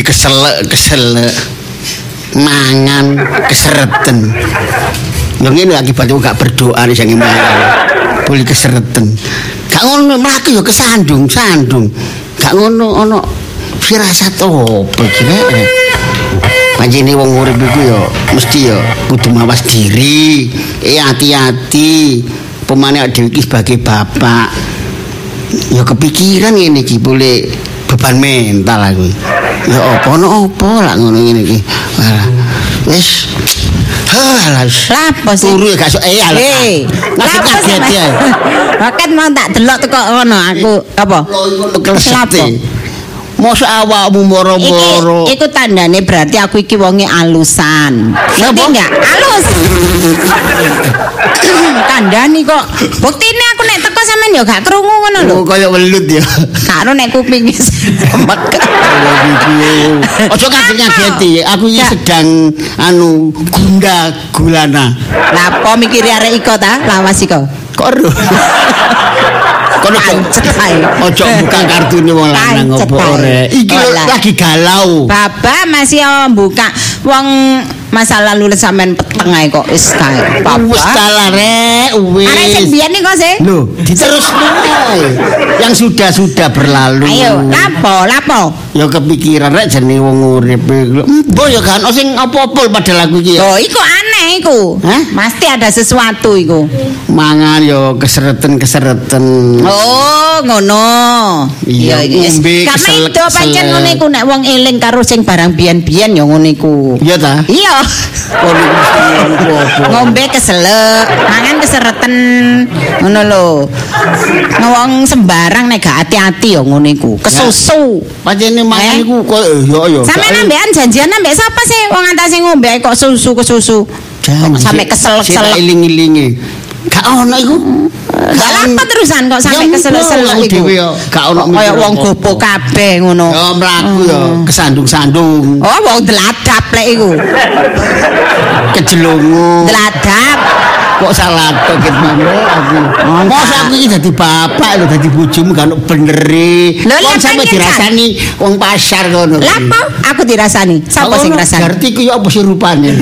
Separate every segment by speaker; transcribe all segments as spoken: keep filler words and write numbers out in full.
Speaker 1: keselek-keselek mangan kesereten. Yo ngene akibatnya gak berdoa nih sing mangan. Boleh kesereten. Gak ngono mlaku yo kesandung, sandung. Gak ngono ono firasat opo iki. Panjene wong urip iku yo mesti yo kudu mawas diri, eh hati-hati. Pemane dhewe iki sebagai bapak. Ya kepikiran ngene iki boleh beban mental aku. Ya apa ono apa lak ngono ngene iki. Wis halah
Speaker 2: lapo sih
Speaker 1: turu gak sok eh alah. Ngasih kaget ya.
Speaker 2: Bakat mau tak delok teko ngono aku apa?
Speaker 1: Lapo. Mosok awakmu moro-moro.
Speaker 2: Iku tandane berarti aku iki wonge alusan. Ngerti enggak? Alus. Kandhani kok. Buktine aku nek teko sampean ya gak krungu ngono lho.
Speaker 1: Oh kaya welut ya.
Speaker 2: Karo nek kuping semek.
Speaker 1: Ojo kaget-kageti. Aku iki sedang anu gunda gulana.
Speaker 2: Lah apa mikire arek iko ta? Lawas iko.
Speaker 1: Kok ero. Kono ojo buka kartune wong lanang opo ore. Iki lagi galau.
Speaker 2: Baba masih buka wong masa lalu sampean peteng ae kok wis kae.
Speaker 1: Wis kalah rek, wis.
Speaker 2: Arek sing biyen iki kok sih.
Speaker 1: Lho, diterusno ae. Yang sudah-sudah berlalu.
Speaker 2: Ayo, lapo, lapo.
Speaker 1: Ya kepikiran rek jenenge wong urip iku. Mbok ya kan sing apa-apa padahal aku iki ya.
Speaker 2: Oh, iku aneh iku. Hah? Mesti ada sesuatu iku.
Speaker 1: Mangan yo kesereten-kesereten.
Speaker 2: Oh, ngono.
Speaker 1: Iya, ngombe
Speaker 2: keselek. Kamane pancen ngono iku nek wong eling karo sing barang biyen-biyen ya ngono iku.
Speaker 1: Iya ta?
Speaker 2: Iya. Ngombe keselek, mangan kesereten. Ngono lho. Wong sembarang nek gak hati-hati ya ngono iku. Kesusu.
Speaker 1: Pancene mangan iku koyo yo yo.
Speaker 2: Sampeyan ambekan janjian ambek sapa sih wong antase ngombe kok susu kesusu. Sampai kesel-kesel
Speaker 1: iling-ilinge. Gak ono iku.
Speaker 2: Gak apa terusan kok sampai kesel-kesel iku.
Speaker 1: Gak ono
Speaker 2: kaya wong gopo kabeh ngono.
Speaker 1: Ya mlaku ya kesandung-sandung.
Speaker 2: Oh wong deladap lek iku.
Speaker 1: Kejelungu.
Speaker 2: Deladap.
Speaker 1: Kok salah tok ket mangke aku. Mosok aku iki dadi bapak lho dadi bojomu gak ono benere. Wong sampe dirasani wong pasar ngono.
Speaker 2: Lha apa aku dirasani? Sapa sing ngrasani?
Speaker 1: Ngerti ku ya apa sih rupane.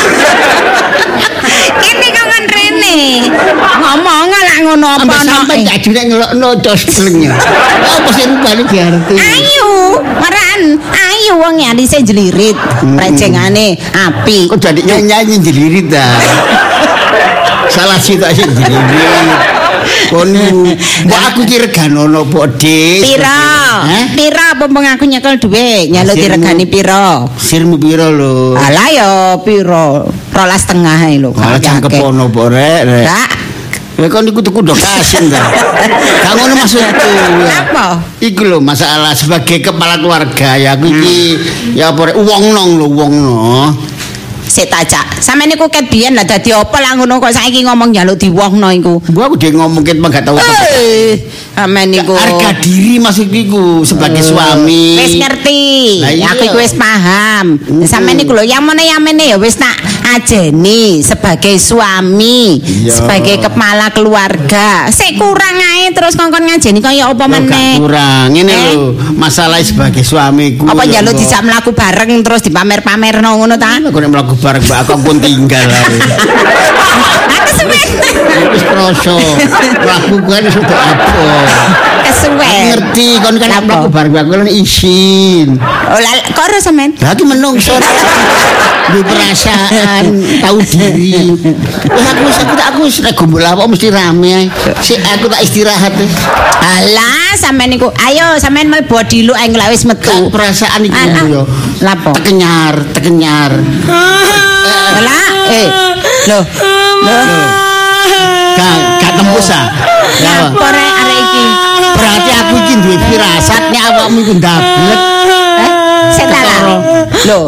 Speaker 2: Kene kangen rene. Ngomong lah ngono apa ono.
Speaker 1: Sampe gak jurek ngelokno dos blengnya. Apa sih rupane diarti?
Speaker 2: Ayo, maran. Ayo wong ya dise jelirit. Rejengane api.
Speaker 1: Kok jadi nyanyi jelirit ta? Salah sih tak sih jelirit. Kono, mbok aku ki reganono po, Dik.
Speaker 2: Pira? Pira apa mung aku nyekel dhuwit, nyaluk diregani pira?
Speaker 1: Sirmu pira lho?
Speaker 2: Alah ya pira? Rolas tengah ae lho.
Speaker 1: Alah cangkep ono po rek, rek.
Speaker 2: Kak.
Speaker 1: Ya kon iku tuku ndo kasin ta. Gak ngono maksudku.
Speaker 2: Apa?
Speaker 1: Iku lho masalah sebagai kepala keluarga ya aku iki ya apa rek wong nong lho wong no.
Speaker 2: Sik tajak. Sampe niku ket biyen lah dadi apa lah ngono kok saiki ngomong njaluk diwohno iku.
Speaker 1: Gua aku dhewe ngomong ket gak tau.
Speaker 2: Eh, amen niku.
Speaker 1: Harga diri maksudku iku sebagai suami.
Speaker 2: Wis ngerti. Aku iku wis paham. Sampe niku lho yang mene yang mene ya wis tak ajeni sebagai suami, sebagai kepala keluarga. Sik kurang ae terus kongkon ngajeni kaya apa meneh.
Speaker 1: Kurang. Ngene lho, masalah sebagai suamiku.
Speaker 2: Apa njaluk dijak mlaku bareng terus dipamer-pamerno ngono ta?
Speaker 1: Aku nek mlaku bareng mbak aku pun tinggal ae.
Speaker 2: Aku suwe.
Speaker 1: Wis kroso. Aku kan sudah apa.
Speaker 2: Kesuwe.
Speaker 1: Ngerti kon kan mlaku bareng aku kan izin.
Speaker 2: Oh lah kok ora sampean?
Speaker 1: Lah iki menungso. Duwe perasaan, tahu diri. Wis aku wis aku tak aku wis nek gombol apa mesti rame ae. Sik aku tak istirahat.
Speaker 2: Alah sampean niku ayo sampean mlebu diluk ae wis metu.
Speaker 1: Perasaan iki yo.
Speaker 2: Lapo?
Speaker 1: Tekenyar, tekenyar.
Speaker 2: Lah, eh. Loh. Loh.
Speaker 1: Gak gak tembus ah.
Speaker 2: Apa rek arek iki?
Speaker 1: Berarti aku iki duwe firasat nek awakmu iku ndablek.
Speaker 2: Eh, setan. Loh.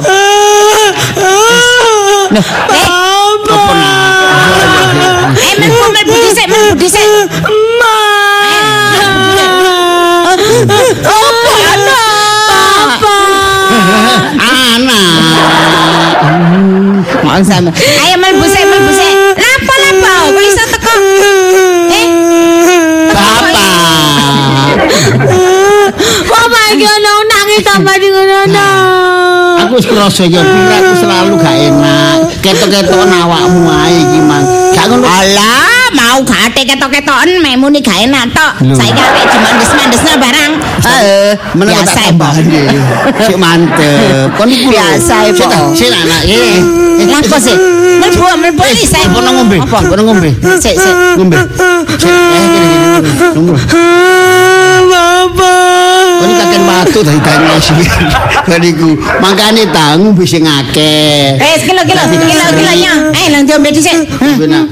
Speaker 2: Loh, eh.
Speaker 1: Apa nah?
Speaker 2: Eh, mlebu mlebu dhisik, mlebu dhisik. Apa ana? Apa?
Speaker 1: Anak.
Speaker 2: Mau sama. Ayo mlebu sik, mlebu sik. Lapo lapo? Kok iso teko? Eh?
Speaker 1: Bapak.
Speaker 2: Bapak iki ono nangis tambah di ngono.
Speaker 1: aku wis krasa ya pikiranku selalu gak enak. Ketok-ketokan awakmu ae iki, Mang. Gak ngono.
Speaker 2: Alah, mau gak ate ketok-ketokan memu ni gak enak tok. Saiki arek dimandes-mandesna barang. Heeh, biasa e,
Speaker 1: Sik mantep. Kon iku
Speaker 2: biasa e, Pak.
Speaker 1: Sik anak iki.
Speaker 2: Lapo sih? Mlebu mlebu iki saya.
Speaker 1: Apa ngombe? Apa ngombe?
Speaker 2: Sik sik.
Speaker 1: Ngombe. Sik, eh kene ngombe. Bapak. Kon kakek watu dari tangan sih. Bariku makane ta ngombe sing akeh.
Speaker 2: Eh, kilo kilo kilo kilonya. Eh, nang diombe dhisik.
Speaker 1: Benar.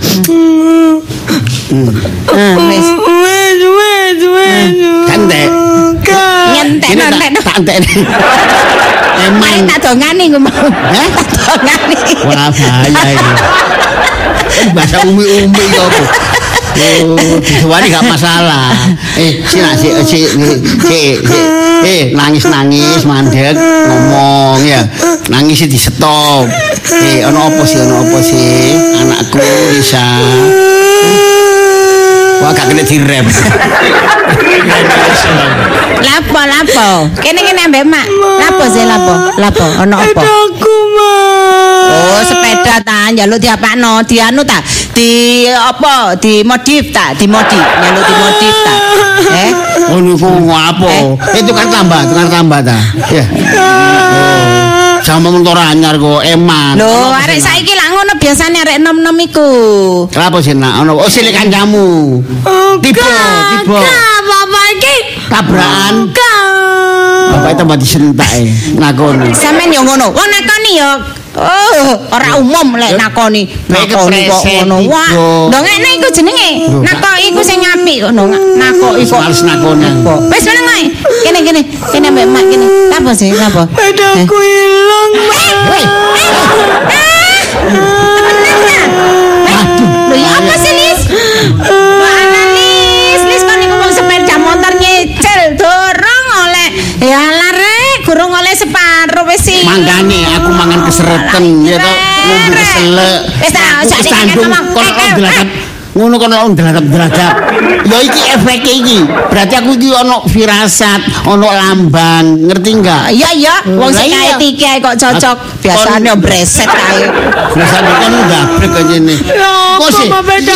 Speaker 2: Ah, wis.
Speaker 3: Wes, wes, wes.
Speaker 1: Kantek.
Speaker 2: Nyentek nyentek.
Speaker 1: Kantek.
Speaker 2: Emang tak dongani ku mau.
Speaker 1: Hah?
Speaker 2: Dongani.
Speaker 1: Wah, bahaya ini. Bahasa umi-umi kok. Oh, disuwani gak masalah. Eh, si nak si si si eh nangis-nangis mandek ngomong ya. Nangis di stop. Eh, ono apa sih? Ono apa sih? Anakku Risa. Wah, gak kena direm.
Speaker 2: Lapo lapo. Kene kene ambek mak. Lapo sih lapo? Lapo ono apa?
Speaker 3: Aku mah.
Speaker 2: Oh, sepeda ta njaluk diapakno? Dianu ta? Di apa? Di modif ta? Di modif. Njaluk di modif ta? Eh?
Speaker 1: Oh, niku apa? Itu kan tambah, tukar tambah ta. Ya. Sama motor anyar kok eman.
Speaker 2: Lho, arek saiki lak ngono biasane arek nom-nom iku.
Speaker 1: Kenapa sih nak? Ono oh silik kancamu. Tiba, tiba.
Speaker 3: Bapak iki
Speaker 1: Tabrakan.
Speaker 3: Kak.
Speaker 1: Bapak tambah disentake ngakoni.
Speaker 2: Sampeyan yo ngono. Wong nakoni yo oh, ora umum lek nakoni. Nakoni kok ngono. Wah, ndongene iku jenenge. Nakoki iku sing apik kok nakoki kok.
Speaker 1: Males nakoni.
Speaker 2: Wis meneng ae. Kene kene. Kene mbek mak kene. Apa sih? Apa?
Speaker 3: Pedaku hilang.
Speaker 2: Woi. Lho ya apa sih, Lis? Mana Lis? Lis kan niku wong sepeda motor nyicil dorong oleh. Ya lah rek, gurung oleh separo wis sih.
Speaker 1: Mangkane aku mangan kesereten ya to, ngombe keselek.
Speaker 2: Wis ta, sak
Speaker 1: ngomong kon delakap. Ngono kon lak delakap-delakap. Ya iki efeke iki. Berarti aku iki ono firasat, ono lambang, ngerti enggak?
Speaker 2: Iya iya, wong sing kae tiki kok cocok. Biasane breset kae.
Speaker 1: Biasane kon gabrek kaya ngene.
Speaker 3: Kok sih?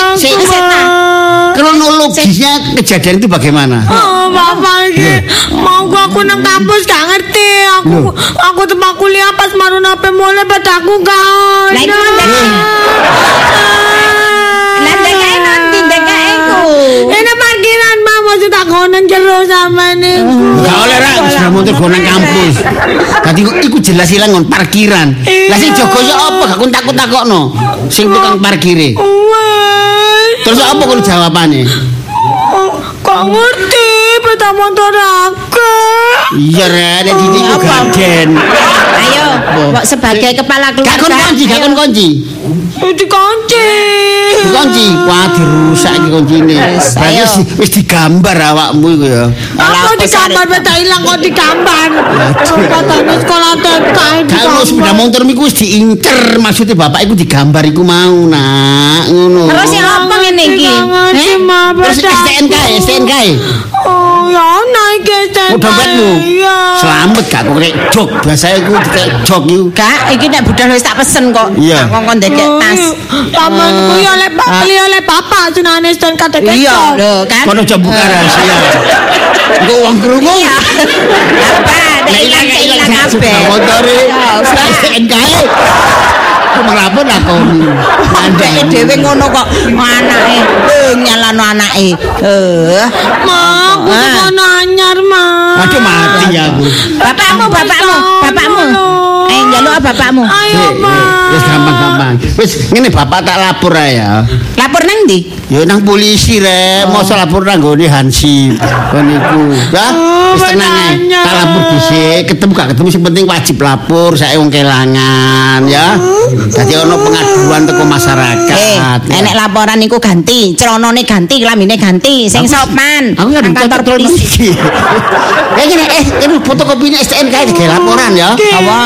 Speaker 1: Kronologisnya kejadian itu bagaimana?
Speaker 3: Oh, Bapak iki mau aku nang kampus gak ngerti. Aku aku tempat kuliah pas marun H P mulai pedaku gak.
Speaker 2: Lah iku Lah dekae nanti dekae ku.
Speaker 3: Ini parkiran mah maksud tak konen jero sama niku.
Speaker 1: Gak oleh ra sudah motor go nang kampus. Dadi iku jelas ilang ngon parkiran. Lah sing jaga ya apa gak kon takut-takokno. Sing tukang parkire. Terus apa kon jawabane?
Speaker 3: Kok ngerti peta motor aku.
Speaker 1: Iya Ren, dadi iku gaden.
Speaker 2: Ayo, kok sebagai kepala keluarga.
Speaker 1: Gak kon kunci, gak kon kunci.
Speaker 3: Dikunci.
Speaker 1: Dikunci, wah dirusak iki kuncine. Berarti wis digambar awakmu iku ya.
Speaker 3: Apa digambar peta ilang kok digambar. Katanya sekolah T K.
Speaker 1: Kalau sepeda motor iku wis diincer, maksudnya bapak iku digambar iku mau nak ngono.
Speaker 2: Terus ya apa ngene iki?
Speaker 3: Eh,
Speaker 1: terus S T N K, S T N K.
Speaker 3: Oh, ya naik S T N K.
Speaker 1: Udah betmu. Selamat gak kok rek jok. Biasanya iku kayak jok iku.
Speaker 2: Kak, iki nek budal wis tak pesen kok.
Speaker 1: Iya.
Speaker 2: Ngongkon dedek tas.
Speaker 3: Pamanku ya oleh beli oleh bapak jenenge S T N K T K.
Speaker 2: Iya, lho kan.
Speaker 1: Kono coba buka rahasia. Engko wong krungu.
Speaker 2: Iya. Apa? Nek ilang ilang kabeh.
Speaker 1: Motore S T N K. Kenapa lakoni?
Speaker 2: Andeke dhewe ngono kok anake eh nyalano anake. Eh.
Speaker 3: Ma, aku kono anyar, Ma.
Speaker 1: Aduh mati aku.
Speaker 2: Bapakmu, bapakmu, bapakmu. Eh njaluk bapakmu.
Speaker 3: Ayo, Ma.
Speaker 1: Wis gampang-gampang. Wis ngene bapak tak lapor ae ya.
Speaker 2: Lapor nang ndi?
Speaker 1: Ya nang polisi rek, mosok lapor nang nggone Hansip. Kon iku. Ya, wis tenang ae. Tak lapor dhisik, ketemu gak ketemu sing penting wajib lapor sae wong kelangan ya. Dadi ono pengaduan teko masyarakat.
Speaker 2: Eh, enek laporan iku ganti, celanane ganti, kelambine ganti, sing sopan.
Speaker 1: Aku kan kantor polisi. Eh, ngene eh, ini fotokopine S T N K iki laporan ya.
Speaker 2: Apa?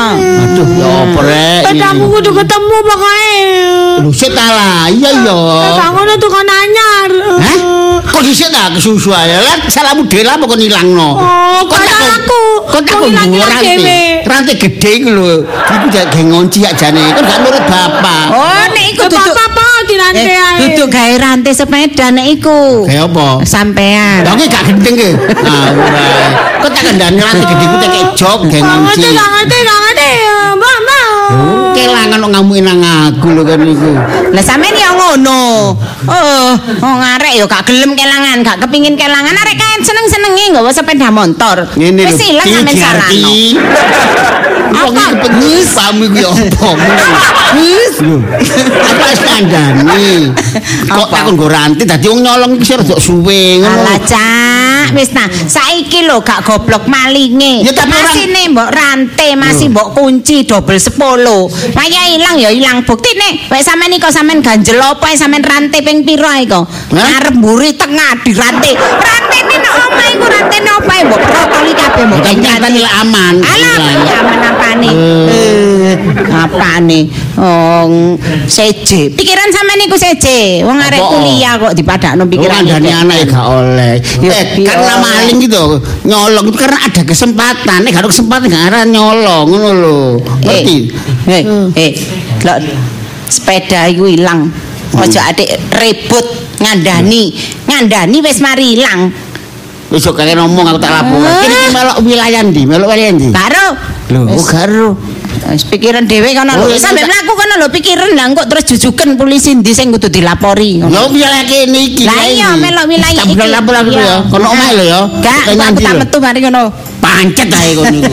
Speaker 1: Aduh, ya apa rek?
Speaker 3: Pedaku kudu ketemu pokoknya.
Speaker 1: Lho sik ta lah. Iya ya.
Speaker 3: Peda ngono tukang anyar.
Speaker 1: Hah? Kok dhisik ta kesusu ae. Lah salahmu dhewe lah kok nilangno.
Speaker 3: Oh, kok aku.
Speaker 1: Kok tak rantai. Rantai gede iku lho. Iku jek ngonci jak jane. Kok gak nurut bapak.
Speaker 2: Oh, nek iku duduk
Speaker 3: apa di rantai ae.
Speaker 2: Duduk gawe rantai sepeda nek iku.
Speaker 1: Kayak apa?
Speaker 2: Sampean.
Speaker 1: Lah gak gendeng ke? Ah, ora. Kok tak kandhane rantai gede ku tak jog gak ngonci.
Speaker 3: Ngerti, gak ngerti, gak ngerti. Mbak, mbak.
Speaker 1: Kelangan kok ngamuin nang aku lho kan iku.
Speaker 2: Lah sampean ya ngono. Oh, wong arek ya gak gelem kelangan, gak kepingin kelangan arek kae seneng-senenge nggawa sepeda motor. Wis ilang sampean salahno.
Speaker 1: Apa penyis kamu iku ya apa? Wis lho. Apa skandane? Kok tak nggo rantai dadi wong nyolong iki rada suwe ngono.
Speaker 2: Alah, Cak, wis nah, saiki lho gak goblok malinge.
Speaker 1: Ya tapi
Speaker 2: masine mbok rantai, masih mbok kunci double sepuluh. Kaya ilang ya ilang buktine. Wek sampean iki kok sampean ganjel apa sampean rantai ping pira iku? Arep mburi tengah dirantai. Rantene nek omah iku rantene apa mbok protoli kabeh mbok
Speaker 1: nyatane aman.
Speaker 2: Alah, aman apane? Eh, apane? Oh, seje. Pikiran sampean iku seje. Wong arek kuliah kok dipadakno pikiran.
Speaker 1: Kandhane anake gak oleh. Eh, karena maling gitu. Nyolong itu karena ada kesempatan. Nek gak ada kesempatan gak arah nyolong ngono lho. Ngerti?
Speaker 2: Eh, eh, lho sepeda iku ilang. Ojo adik ribut ngandani. Ngandani wis mari ilang.
Speaker 1: Wis kok kaya ngomong aku tak laporan. Kene melok wilayah ndi? Melok wilayah ndi?
Speaker 2: Karo.
Speaker 1: Lho, karo.
Speaker 2: Wis pikiran dhewe kono lho. Sampe mlaku kono lho pikiran lah kok terus jujuken polisi ndi sing kudu dilapori.
Speaker 1: Lho wilayah kene iki.
Speaker 2: Lah iya melok wilayah iki.
Speaker 1: Tak lapor aku ya. Kono omahe lho ya.
Speaker 2: Gak, aku tak metu mari ngono.
Speaker 1: Pancet ae kono iku.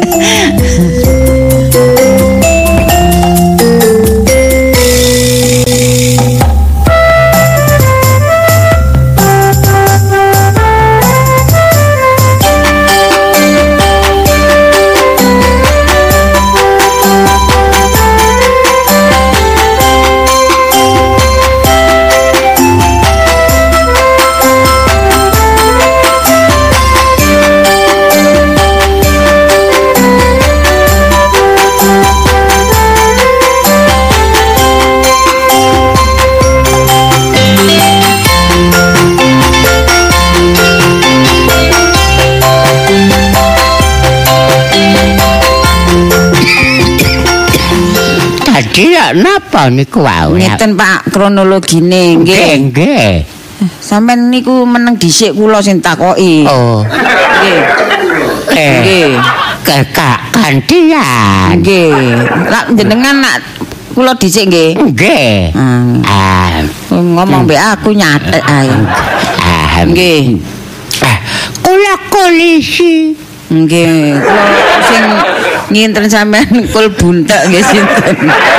Speaker 1: Iya, napa niku wae?
Speaker 2: Ngeten Pak, kronologine nggih.
Speaker 1: Nggih.
Speaker 2: Sampeyan niku meneng dhisik kula sing takoki.
Speaker 1: Oh.
Speaker 2: Nggih.
Speaker 1: Eh.
Speaker 2: Nggih.
Speaker 1: Kakak gantian.
Speaker 2: Nggih. Lah jenengan nak kula dhisik nggih.
Speaker 1: Nggih.
Speaker 2: Ah, ngomong mbek aku nyatek ae.
Speaker 1: Ah,
Speaker 2: nggih.
Speaker 1: Ah, kula polisi.
Speaker 2: Nggih, kula sing nginten sampean kul buntek nggih sinten.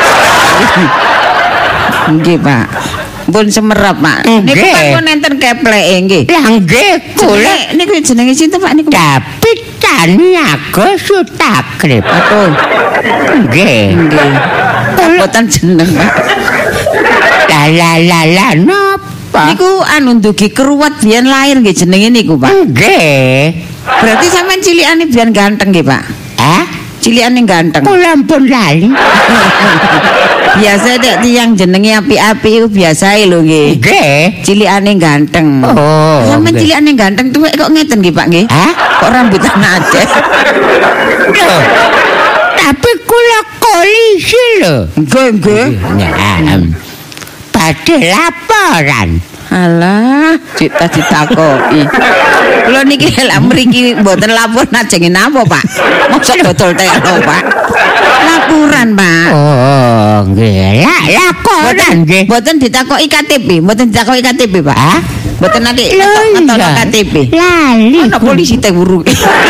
Speaker 2: Nggih, Pak. Pun semerap, Pak. Niku kan nenten kepleke nggih.
Speaker 1: Lah nggih, kula
Speaker 2: niku jenenge sinten, Pak niku?
Speaker 1: Kapitan Niaga Sutakrip.
Speaker 2: Aduh.
Speaker 1: Nggih.
Speaker 2: Nggih. Boten jeneng, Pak.
Speaker 1: La la la la napa?
Speaker 2: Niku anu ndugi keruwat biyen lahir nggih jenenge niku, Pak.
Speaker 1: Nggih.
Speaker 2: Berarti sampean cilikane biyen ganteng nggih, Pak?
Speaker 1: Hah?
Speaker 2: Cilikane ganteng.
Speaker 1: Kula ampun lali.
Speaker 2: Biasa nek tiyang jenenge api-api iku biasae lho nggih.
Speaker 1: Nggih.
Speaker 2: Cilikane ganteng.
Speaker 1: Oh.
Speaker 2: Sampeyan cilikane ganteng tuwek kok ngeten nggih, Pak nggih?
Speaker 1: Hah?
Speaker 2: Kok rambutan Aceh?
Speaker 1: Tapi kula polisi lho.
Speaker 2: Nggih, nggih.
Speaker 1: Nah, badhe laporan.
Speaker 2: Alah, cita ditakoki. Kula niki lek mriki mboten lapor ajenge napa, Pak? Mosok dodol telo, Pak. Laporan, Pak.
Speaker 1: Oh, nggih. Lah, laporan nggih.
Speaker 2: Mboten ditakoki K T P, mboten ditakoki K T P, Pak.
Speaker 1: Hah?
Speaker 2: Mboten nanti ngetokno K T P.
Speaker 1: Lali.
Speaker 2: Ana polisi teh wuru.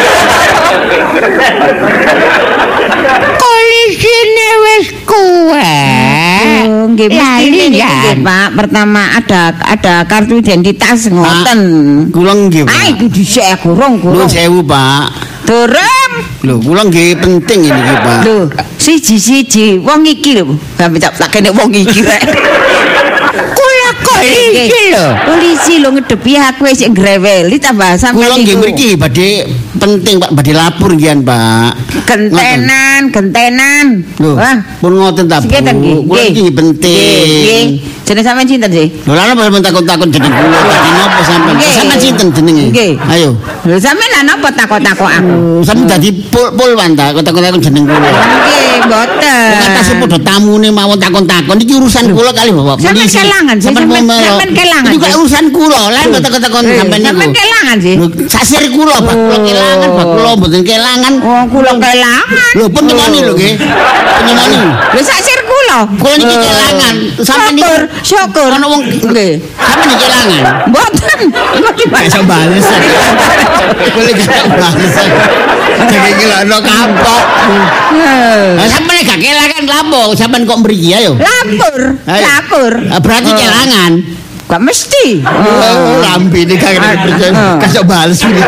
Speaker 1: Polisine wis kuwe.
Speaker 2: Nggih, mesti nggih, Pak. Pertama ada ada kartu identitas ngoten.
Speaker 1: Kula nggih, Pak.
Speaker 2: Ah, iku dhisik gorong gorong.
Speaker 1: Nuwun sewu, Pak.
Speaker 2: Durung.
Speaker 1: Lho, kula nggih penting ini nggih, Pak.
Speaker 2: Lho, siji-siji wong iki lho. Sampe tak kene wong iki rek.
Speaker 1: Kula kok
Speaker 2: polisi lho. Polisi lho ngedepi aku wis greweli tambah sampeyan.
Speaker 1: Kula nggih mriki badhe penting Pak, badhe lapor ngian Pak.
Speaker 2: Gentenan, gentenan.
Speaker 1: Wah, pun ngoten ta Bu. Kula iki penting.
Speaker 2: Jeneng sampean sinten sih?
Speaker 1: Lho lha napa takon-takon jeneng kula? Dadi napa sampean? Sampeyan sinten jenenge? Ayo.
Speaker 2: Lho sampean lha napa takon-takon aku?
Speaker 1: Sampeyan dadi pul-pul ta takon-takon jeneng kula.
Speaker 2: Nggih, mboten.
Speaker 1: Katase padha tamune mawon takon-takon iki urusan kula kali Bapak polisi.
Speaker 2: Sampeyan kelangan, sampeyan kelangan.
Speaker 1: Iki urusan kula, lha kok takon-takon sampeyan niku.
Speaker 2: Sampeyan kelangan sih.
Speaker 1: Sasir kula Pak, kula kelangan, Pak kula mboten kelangan.
Speaker 2: Oh, kula kelangan.
Speaker 1: Lho pun nyemoni lho nggih. Nyemoni.
Speaker 2: Lho sasir kula.
Speaker 1: Kula niki kelangan. Sampeyan niku
Speaker 2: syukur
Speaker 1: ana wong nggih. Sampeyan niki kelangan.
Speaker 2: Mboten. Kok
Speaker 1: iso bales. Kula gak bales. Jadi iki lho ono kapok. Lah sampeyan gak kelangan lapo? Sampeyan kok mriki ayo.
Speaker 2: Lapor. Lapor.
Speaker 1: Berarti kelangan.
Speaker 2: Gak mesti.
Speaker 1: Oh, lambene gak percaya. Kasih bales ini.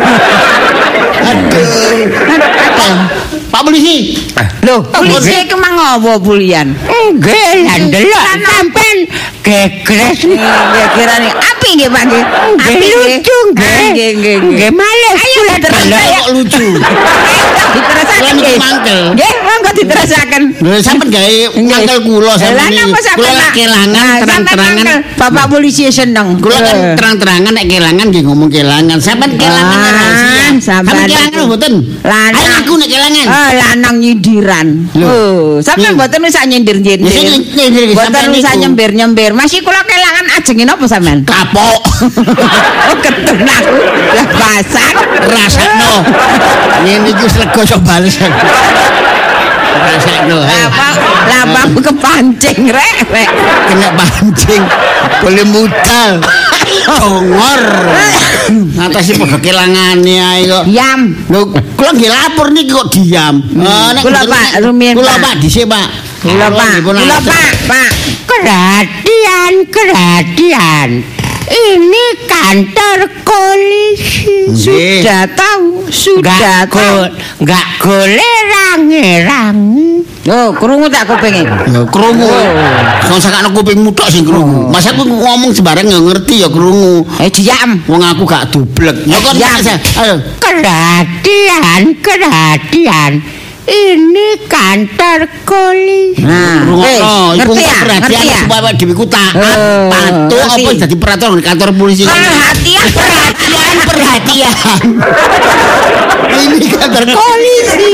Speaker 1: Aduh. Pak polisi.
Speaker 2: Loh, polisi iki mang ngopo bulian?
Speaker 4: Nggih, lah ndelok sampean gegres.
Speaker 2: Nggih, kirane api nggih Pak nggih. Api
Speaker 4: lucu nggih.
Speaker 2: Nggih, nggih.
Speaker 4: Nggih, males kula
Speaker 1: terus kok lucu.
Speaker 2: Diterasaken nggih. Nggih, monggo diterasaken.
Speaker 1: Lho sampean gawe mangkel kula sampeyan. Kula kelangan terang-terangan.
Speaker 2: Bapak polisi seneng.
Speaker 1: Kula kan terang-terangan nek kelangan nggih ngomong kelangan. Sampeyan kelangan rahasia. Sampeyan kelangan mboten? Lanang aku nek kelangan.
Speaker 2: Oh, lanang nyindiran. Oh, sampeyan mboten usah nyindir-nyindir. Mboten usah nyembir-nyembir. Masih kula kelangan ajenge napa sampean?
Speaker 1: Kapok.
Speaker 2: Oh, ketun aku. Lah basak
Speaker 1: rasakno. Ngene iki wis lega sok bales. Rasakno.
Speaker 2: Apa? Lapang kepancing rek, rek.
Speaker 1: Kena pancing. Boleh mutal. Congor. Atase padha kelangane ae kok.
Speaker 2: Diam.
Speaker 1: Lho, kula nggih lapor niki kok diam.
Speaker 2: Kula Pak, rumiyin
Speaker 1: Kula Pak dhisik Pak.
Speaker 2: Kula Pak. Kula Pak, Pak.
Speaker 4: Kerhatian, kerhatian. Ini kantor polisi.
Speaker 2: Sudah tahu, sudah tahu.
Speaker 4: Enggak golek rangi-rangi.
Speaker 2: Oh, krungu tak kupinge?
Speaker 1: Ya krungu. Kok sakakno kupingmu tok sing krungu. Masa aku ngomong sembarang ya ngerti ya krungu.
Speaker 2: Eh diam.
Speaker 1: Wong aku gak dublek. Ya kon ayo.
Speaker 4: Kerhatian, kerhatian. Ini kantor polisi.
Speaker 2: Nah,
Speaker 1: ngerti ya? Perhatian supaya dhewe ku taat, patuh apa dadi peraturan kantor polisi.
Speaker 2: Perhatian, perhatian, perhatian.
Speaker 1: Ini kantor polisi.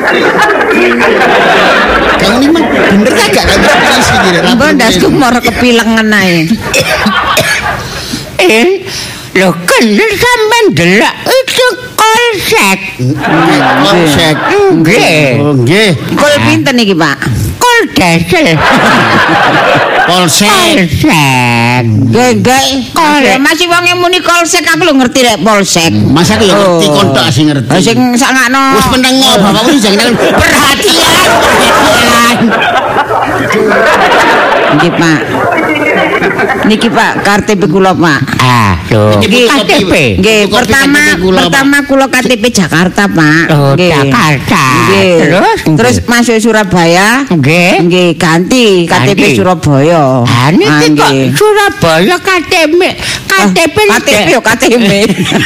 Speaker 1: Kamu ini mah bener kagak kantor polisi iki?
Speaker 2: Bondasku moro kepilengen ae.
Speaker 4: Eh, lho bener sampean delok itu polsek.
Speaker 1: Polsek.
Speaker 4: Nggih.
Speaker 1: Oh, nggih.
Speaker 2: Kol pinten iki, Pak?
Speaker 4: Kol desel.
Speaker 1: Polsek.
Speaker 4: Polsek.
Speaker 2: Nggih, nggih. Kol masih wong muni polsek aku lho ngerti rek polsek.
Speaker 1: Mas aku ya ngerti kontok sing ngerti.
Speaker 2: Sing sakno.
Speaker 1: Wis menengo bapakmu jangan perhatian.
Speaker 2: Nggih, Pak. Niki Pak, K T P kula Pak.
Speaker 4: Ah, lho.
Speaker 2: Niki
Speaker 4: K T P.
Speaker 2: Nggih, pertama pertama kula K T P Jakarta, Pak.
Speaker 4: Oh, Jakarta.
Speaker 2: Nggih.
Speaker 4: Terus
Speaker 2: terus masuk Surabaya.
Speaker 4: Nggih.
Speaker 2: Nggih, ganti K T P Surabaya.
Speaker 4: Ah, niki kok Surabaya K T P K T P
Speaker 2: K T P yo K T P.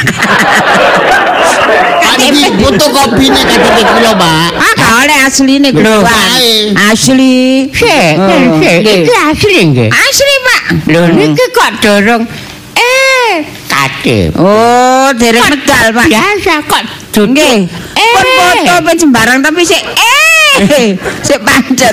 Speaker 1: Iki fotokopine K T P kula, Pak.
Speaker 2: Ah, gak oleh asline kula. Asli.
Speaker 4: Sik, sik. Iki asli nggih.
Speaker 2: Asli, Pak.
Speaker 4: Lho niki kok dorong eh K T P.
Speaker 2: Oh, dereng medal, Pak.
Speaker 4: Biasa kok
Speaker 2: nggih. Pun foto pen sembarang tapi sik eh sik pancet.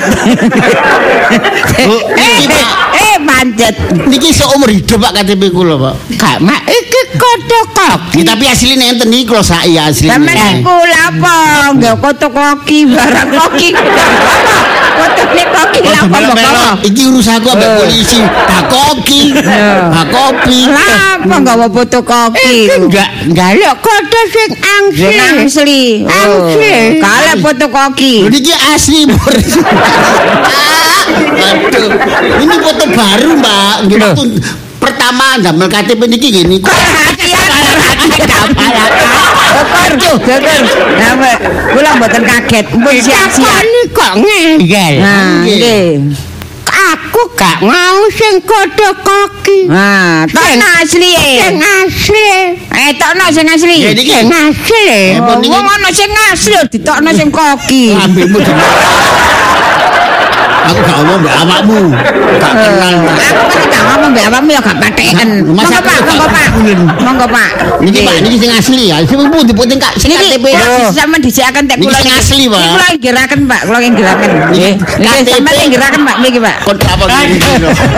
Speaker 2: Eh, eh pancet.
Speaker 1: Niki seumur hidup Pak K T P kula, Pak.
Speaker 4: Gak mak iki fotokopi.
Speaker 1: Tapi asline enten iki kula sak ya asline.
Speaker 2: Sampeyan iku lapo? Nggih fotokopi barang koki. Fotone koki lapo kok.
Speaker 1: Iki urusanku ambek polisi. Bakoki. Bakopi.
Speaker 2: Lapo nggawa fotokopi?
Speaker 4: Enggak, njaluk foto sing angsli.
Speaker 2: Angsli.
Speaker 4: Angsli.
Speaker 2: Kale fotokopi.
Speaker 1: Niki asli, Bur. Aduh. Ini foto baru, Mbak. Nggih, pertama ndamel K T P niki ngene.
Speaker 2: Perhatian, perhatian. Kerjo, geger. Nah, kula mboten kaget. Pun siap-siap.
Speaker 4: Kok ngengel.
Speaker 2: Nah, nggih.
Speaker 4: K aku gak mau sing kodho koki.
Speaker 2: Nah, tokno asli e.
Speaker 4: Sing asli.
Speaker 2: Eh, tokno sing asli.
Speaker 1: Ya niki
Speaker 4: Sing asli.
Speaker 2: Wong ana sing asli ditokno sing koki.
Speaker 1: ambekmu aku gak ngomong mbak awakmu gak kenal
Speaker 2: Aku pasti gak ngomong mbak awakmu ya gak patheken. Monggo Pak, monggo Pak. Monggo Pak.
Speaker 1: niki Pak niki sing asli ya sing pundi penting Kak sing K T P
Speaker 2: sampeyan disikaken tek
Speaker 1: Niki
Speaker 2: kula
Speaker 1: sing asli, Pak.
Speaker 2: Niki kula nggiraken Pak, kula nggiraken. Nggih. Niki sampeyan nggiraken Pak niki Pak.
Speaker 1: kon apa ngene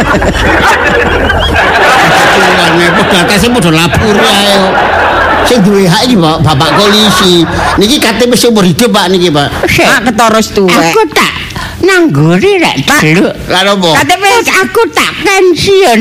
Speaker 1: batasnya padha lapor ae sing duwe hak iki Pak bapak polisi niki K T P seumur hidup Pak niki Pak
Speaker 2: Pak ketoros tuwek.
Speaker 4: Aku tak nangguri rek delok.
Speaker 1: lha opo
Speaker 2: K T P
Speaker 4: Aku tak pensiun.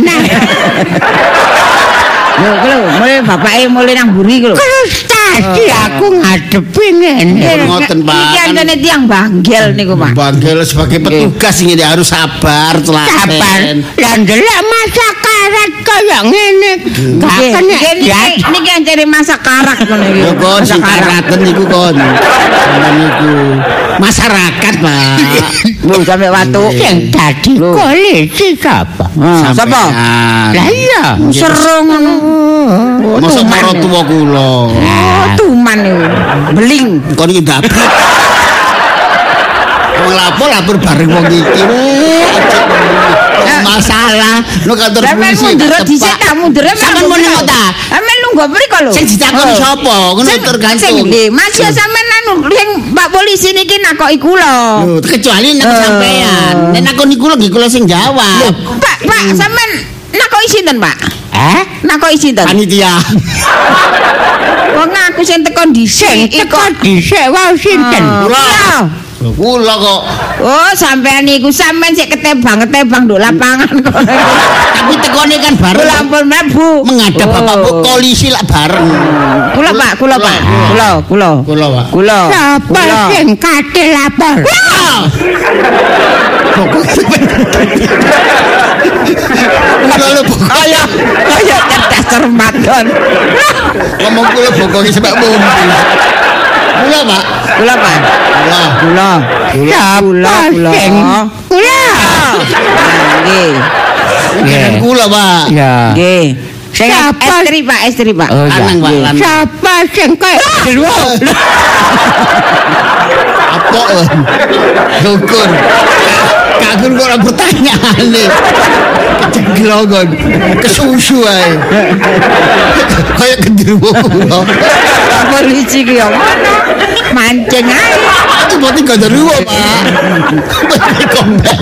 Speaker 2: lho lho mulai bapake mulai nang buri lho.
Speaker 4: Terus tadi aku ngadepi ngene.
Speaker 1: ngoten Pak
Speaker 2: Iki antene tiyang banggel niku Pak.
Speaker 1: Banggel sebagai petugas ini harus sabar
Speaker 4: Sabar.
Speaker 1: telaten
Speaker 4: Lah ndelok masa karat kaya ngene. Gak
Speaker 2: Nggih,
Speaker 4: kena
Speaker 2: nggih, niki niki ancene masak karak ngono iki.
Speaker 1: ya kon
Speaker 2: Masak
Speaker 1: sing
Speaker 2: karak.
Speaker 1: karaten niku kon sampeyan niku masyarakat Pak
Speaker 2: Lho sampe watu.
Speaker 4: sing dadi polisi sapa?
Speaker 2: Ah, Sapa?
Speaker 4: Lah iya.
Speaker 2: Seru ngono.
Speaker 1: mosok karo tuwa kula
Speaker 2: Oh, tuman niku. Beling.
Speaker 1: kon iki ndabrak wong lapor lapor bareng wong iki masalah no kantor
Speaker 2: Sampeyan
Speaker 1: polisi
Speaker 2: mundur
Speaker 1: gak
Speaker 2: dhisik
Speaker 1: tepak.
Speaker 2: ta mundur.
Speaker 1: Sampeyan mau nengok ta
Speaker 2: Sampeyan lungguh mriko lho.
Speaker 1: sing ditakoni sapa ngono
Speaker 2: Sing
Speaker 1: tergantung
Speaker 2: nggih, Mas ya sampean anu sing Pak polisi niki nakoki kula.
Speaker 1: Lho, kecuali nek
Speaker 2: Eh.
Speaker 1: sampean nek nakoni kula nggih kula sing jawab
Speaker 2: Pak, Pak, sampean nakoki sinten, Pak?
Speaker 4: Eh?
Speaker 2: Nakoki sinten?
Speaker 1: panitia
Speaker 2: Wong aku sing teko
Speaker 4: Sing
Speaker 2: dhisik
Speaker 4: teko dhisik wae sinten?
Speaker 1: Kula. Lho, kula kok
Speaker 2: Oh, sampean niku sampean sik ketebang-ketebang nduk lapangan kok.
Speaker 1: tapi tekone kan bareng
Speaker 2: Kula ampun mlebu.
Speaker 1: menghadap
Speaker 2: Oh.
Speaker 1: Bapak Bu, polisi lah bareng
Speaker 2: Kula, Pak, kula, Pak. Kula, kula.
Speaker 1: kula Pak
Speaker 2: Kula.
Speaker 4: Sapa
Speaker 2: Kula.
Speaker 4: sing kate lapor?
Speaker 1: kula lho pokok
Speaker 2: Kaya kaya cerdas cermat kon.
Speaker 1: ngomong kula bokongi sebab mobil kula Pak
Speaker 2: Kula, Pak.
Speaker 1: kula
Speaker 2: Kula.
Speaker 4: Sapa
Speaker 2: Kula, kula.
Speaker 4: sing? Kula.
Speaker 2: Nggih.
Speaker 1: Dengan kula Pak
Speaker 4: Ya.
Speaker 2: Nggih. Sing
Speaker 4: Siapa?
Speaker 2: estri, Pak, estri, Pak.
Speaker 4: Oh, ya.
Speaker 1: lanang Pak lanang
Speaker 4: Sapa sing kaya
Speaker 1: apa Dukun Kagun kok ora pertanyaan nih Kejeglongon Kesusu ae Kayak genderuwo kula
Speaker 2: Polisi ki yo ngono. Mancing ae.
Speaker 1: Itu berarti genderuwo Pak Berarti kombel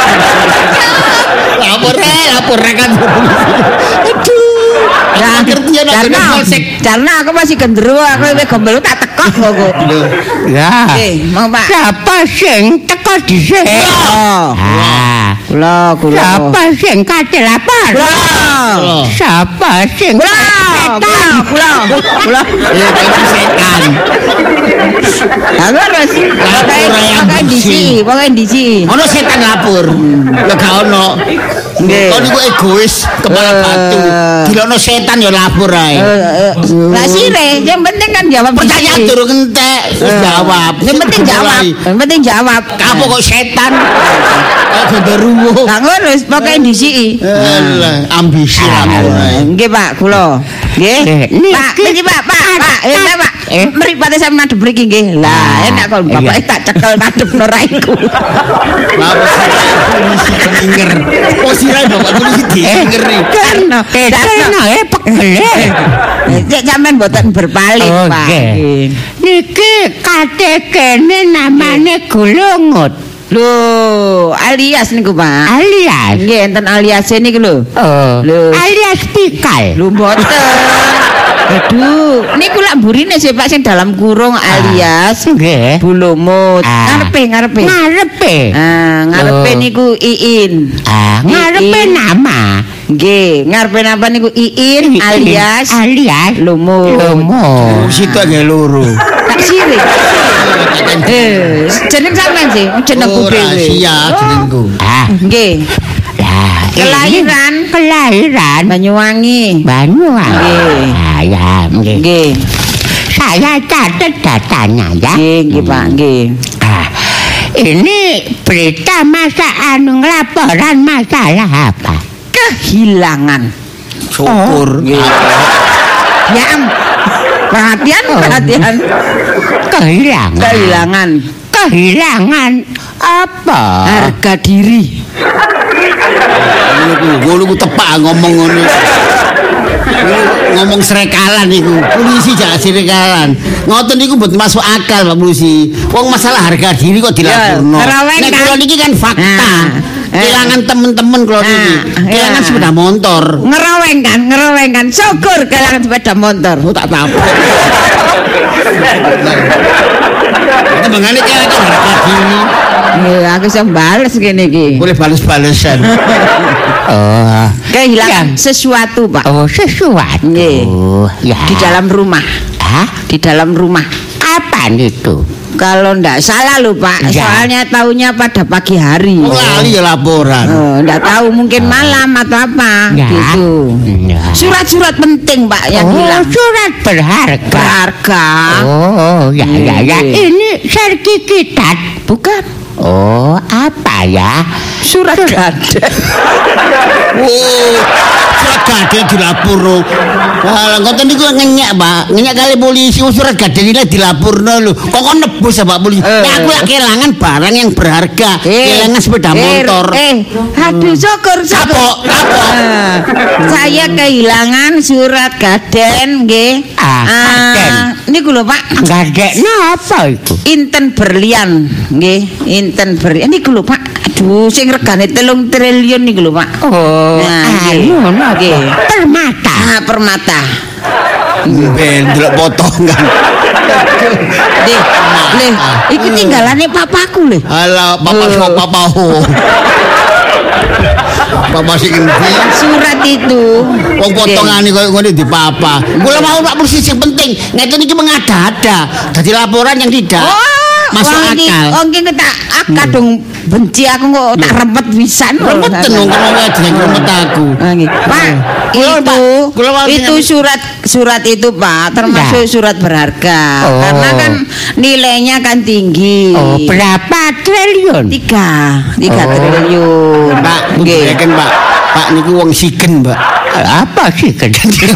Speaker 1: Lapor eh lapor rekan Aduh
Speaker 2: Ya,
Speaker 1: Ngertian aku
Speaker 2: karena,
Speaker 1: polsek
Speaker 2: karena aku masih genderuwo, aku wis gombel tak tekok kok.
Speaker 4: Ya.
Speaker 2: Nggih, mau Pak.
Speaker 4: Sapa sing teko dhisik?
Speaker 2: Oh.
Speaker 4: Ah.
Speaker 2: Kula, kula.
Speaker 4: Sapa sing kate lapor?
Speaker 2: Kula.
Speaker 4: Sapa sing
Speaker 2: Kula, kula, kula, kula.
Speaker 1: Ya itu setan
Speaker 2: Aku harus pakai
Speaker 1: yang
Speaker 2: pakai
Speaker 1: bersih.
Speaker 2: disi, pakai disi.
Speaker 1: Ono setan lapor ya gak ono
Speaker 2: Nggih.
Speaker 1: Kon iku egois kepala batu Dilono setan ya lapor ae
Speaker 2: Lah sire, yang penting kan jawab
Speaker 1: Pertanyaan
Speaker 2: disi.
Speaker 1: durung entek wis jawab
Speaker 2: Yang penting jawab, yang penting jawab.
Speaker 1: Kapo kok setan kok genderuwo
Speaker 2: Lah ngono wis pakai disi.
Speaker 1: Alah ambisi lapor ae
Speaker 2: Nggih Pak, kula. Nggih.
Speaker 4: Niki-
Speaker 2: Pak, niki Pak, Pak, Pak, eh Pak.
Speaker 4: Eh?
Speaker 2: Mripate sampe madhep mriki nggih. Lah, enak kok bapake tak cekel madhep nora iku.
Speaker 1: Lapor polisi denger Oh sirai bapak polisi denger nih
Speaker 2: Karena
Speaker 4: Karena eh pegel.
Speaker 2: Cek sampean mboten berpaling,
Speaker 4: Oh,
Speaker 2: Pak.
Speaker 4: nggih.
Speaker 2: Nggih.
Speaker 4: Niki kate kene namane Gulungut.
Speaker 2: Lho, alias niku, Pak.
Speaker 4: Alias.
Speaker 2: Nggih, enten alias niku lho.
Speaker 4: Oh.
Speaker 2: Lho.
Speaker 4: Alias Pikal.
Speaker 2: Lho mboten. Aduh, niku lak burine sih Pak sing dalam kurung alias
Speaker 4: Nggih.
Speaker 2: Bulumut.
Speaker 4: Ah.
Speaker 2: Ngarepe, ngarepe.
Speaker 4: Ngarepe.
Speaker 2: Ah, ngarepe
Speaker 4: Oh.
Speaker 2: niku Iin.
Speaker 4: Ah, ngarepe
Speaker 2: Iin.
Speaker 4: nama.
Speaker 2: Nggih, ngarepe napa niku Iin alias
Speaker 4: alias
Speaker 2: Lumut.
Speaker 4: Lumut.
Speaker 1: Situ agak loro
Speaker 2: Tak sirik. Eh, jeneng sampean sih, jenengku
Speaker 1: Oh
Speaker 2: dhewe.
Speaker 1: rahasia jenengku
Speaker 4: Ah,
Speaker 2: Nggih.
Speaker 4: lah. ini
Speaker 2: Kelahiran
Speaker 4: Kelahiran
Speaker 2: Banyuwangi.
Speaker 4: Banyuwangi.
Speaker 2: Nggih.
Speaker 4: Ah, ya, nggih.
Speaker 2: Nggih.
Speaker 4: Saya catat datanya ya.
Speaker 2: Nggih, nggih Pak, nggih.
Speaker 4: Ah, Ini berita masa anu laporan masalah apa?
Speaker 2: Kehilangan.
Speaker 1: Syukur.
Speaker 2: Oh, ya, perhatian, perhatian.
Speaker 4: Kehilangan.
Speaker 2: Kehilangan.
Speaker 4: Kehilangan apa?
Speaker 2: Harga diri.
Speaker 1: Ngono ku tepak ngomong ngono. Ngomong serekalan niku. Polisi jak serekalan. Ngoten niku mboten masuk akal Pak Polisi. Wong masalah harga diri kok dilaporno. Nek kula niki kan fakta. Kehilangan temen-temen kula niki. Kehilangan sepeda motor.
Speaker 2: Ngeroweng kan, ngeroweng kan. Syukur kehilangan sepeda motor.
Speaker 1: Oh tak apa. Itu mengane kehilangan harga diri.
Speaker 2: Ya, aku bisa bales gini iki.
Speaker 1: Boleh bales-balesan.
Speaker 4: Oh,
Speaker 2: kehilangan sesuatu, Pak.
Speaker 4: Oh, sesuatu.
Speaker 2: Nggih.
Speaker 4: Ya.
Speaker 2: Di dalam rumah.
Speaker 4: Hah?
Speaker 2: Di dalam rumah.
Speaker 4: Apa itu?
Speaker 2: Kalau ndak salah lho Pak,
Speaker 4: Ya.
Speaker 2: soalnya taunya pada pagi hari.
Speaker 1: Oh, lali ya laporan.
Speaker 2: Oh, ndak tahu mungkin malam atau apa
Speaker 4: Ya.
Speaker 2: gitu.
Speaker 4: Ya.
Speaker 2: Surat-surat penting Pak yang
Speaker 4: Oh,
Speaker 2: hilang.
Speaker 4: surat berharga.
Speaker 2: Berharga.
Speaker 4: Oh, ya ya ya.
Speaker 2: Nggih.
Speaker 4: Ini sertifikat.
Speaker 2: Bukan.
Speaker 4: Oh, apa ya?
Speaker 2: Surat gadai.
Speaker 1: Oh, surat gadai dilapurno. Lah ngoten niku ngenyek, Pak. Ngenyek kali polisi surat gadai ini dilapurno lho. Kok kok nebus ya Pak polisi.
Speaker 2: Eh.
Speaker 1: Nah, aku lak kehilangan barang yang berharga. Kehilangan sepeda motor.
Speaker 2: Eh, eh, aduh syukur syukur.
Speaker 1: Kapok, kapok.
Speaker 2: Ah, saya kehilangan surat gaden nggih.
Speaker 4: Ah, gaden.
Speaker 2: Niku lho Pak.
Speaker 4: Gadekno apa itu?
Speaker 2: Inten berlian nggih, inten berlian niku lho Pak. Aduh, sing regane telung triliun niku lho Pak.
Speaker 4: Oh,
Speaker 2: Nah,
Speaker 4: anu
Speaker 2: nggih.
Speaker 4: nggih. Permata.
Speaker 2: Ah, permata.
Speaker 1: Ben delok potongan.
Speaker 2: Deh, leh, iki tinggalane papaku lho.
Speaker 1: Alah, papa so papa ho. Papa sing endi?
Speaker 2: Surat itu.
Speaker 1: Wong potongane koyo ngene di papa. Kula mau Pak polisi sing penting. Ngeten iki mengada-ada. Dadi laporan yang tidak masuk
Speaker 2: wong iki-
Speaker 1: akal.
Speaker 2: Wong iki tak kadung benci aku kok tak rempet pisan.
Speaker 1: Remeten wong kono wae jeneng remet aku.
Speaker 2: Ah, nggih. Pak,
Speaker 1: Kula,
Speaker 2: itu
Speaker 1: Pak, kula mau
Speaker 2: itu
Speaker 1: sing-
Speaker 2: surat surat itu Pak termasuk surat berharga
Speaker 4: Oh.
Speaker 2: karena kan nilainya kan tinggi.
Speaker 4: Oh, berapa triliun?
Speaker 2: Tiga, tiga
Speaker 4: Oh.
Speaker 2: triliun.
Speaker 1: Pak,
Speaker 2: Nggih.
Speaker 1: bukan Pak. Pak niku wong sigen, Pak.
Speaker 4: Apa sih kejadian?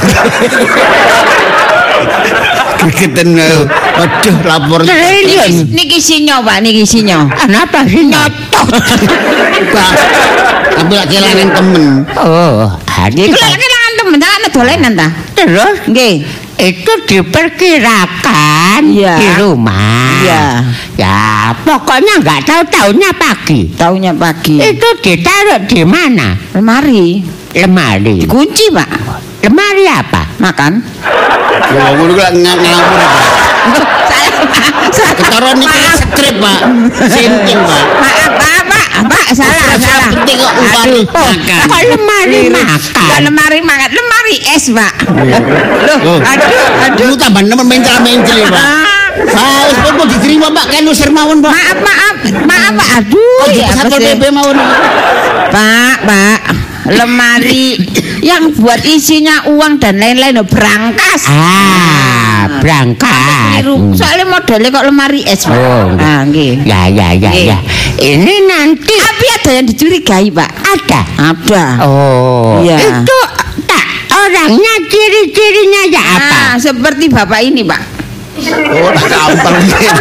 Speaker 1: Gegeten. Waduh, lapor.
Speaker 4: Triliun.
Speaker 2: Niki sinyo Pak, niki sinyo.
Speaker 4: Kenapa sih nyotot?
Speaker 1: Pak. Tapi lak kehilangan temen.
Speaker 4: Oh, ada.
Speaker 2: Iku lek kelangan temen tak dolenan ta?
Speaker 4: Terus
Speaker 2: Nggih.
Speaker 4: itu diperkirakan
Speaker 2: Iya.
Speaker 4: di rumah.
Speaker 2: Iya.
Speaker 4: Ya, pokoknya nggak tahu tahunnya pagi.
Speaker 2: Taunya pagi.
Speaker 4: Itu ditaruh di mana?
Speaker 2: Lemari.
Speaker 4: Lemari.
Speaker 2: Kunci Pak.
Speaker 4: Lemari apa?
Speaker 2: Makan.
Speaker 1: Wong ngono ku lak ngawur, Pak.
Speaker 2: Saya Pak.
Speaker 1: Ketara niki skrip, Pak. Sinting, Pak.
Speaker 2: Maaf, Pak, Pak, Pak, salah, salah.
Speaker 1: Penting kok upane makan.
Speaker 4: Kok lemari
Speaker 2: Bukan
Speaker 4: makan?
Speaker 2: lemari makan, lemari es, Pak. Loh,
Speaker 1: Oh.
Speaker 2: aduh, aduh.
Speaker 1: Lu tambah nemen mencel-mencel, Pak. Ah, wis pun mau diterima, Pak. Kan usir mawon, Pak.
Speaker 2: Maaf, maaf, maaf, Pak. Aduh,
Speaker 1: Oh,
Speaker 2: ya apa
Speaker 1: Satpol
Speaker 2: sih?
Speaker 1: P P mawon.
Speaker 2: Pak, Pak, lemari yang buat isinya uang dan lain-lain loh, berangkas.
Speaker 4: Ah, berangkat.
Speaker 2: Keliru. Soalnya modelnya kok lemari es, Pak.
Speaker 4: Oh,
Speaker 2: Ah, nggih.
Speaker 4: Ya, ya, ya,
Speaker 2: Nggih.
Speaker 4: ya. Ini nanti
Speaker 2: Tapi ada yang dicurigai, Pak.
Speaker 4: ada.
Speaker 2: Ada.
Speaker 4: Oh,
Speaker 2: Iya.
Speaker 4: itu tak orangnya ciri-cirinya ya apa?
Speaker 2: Ah, seperti Bapak ini, Pak.
Speaker 1: Oh, tak gampang.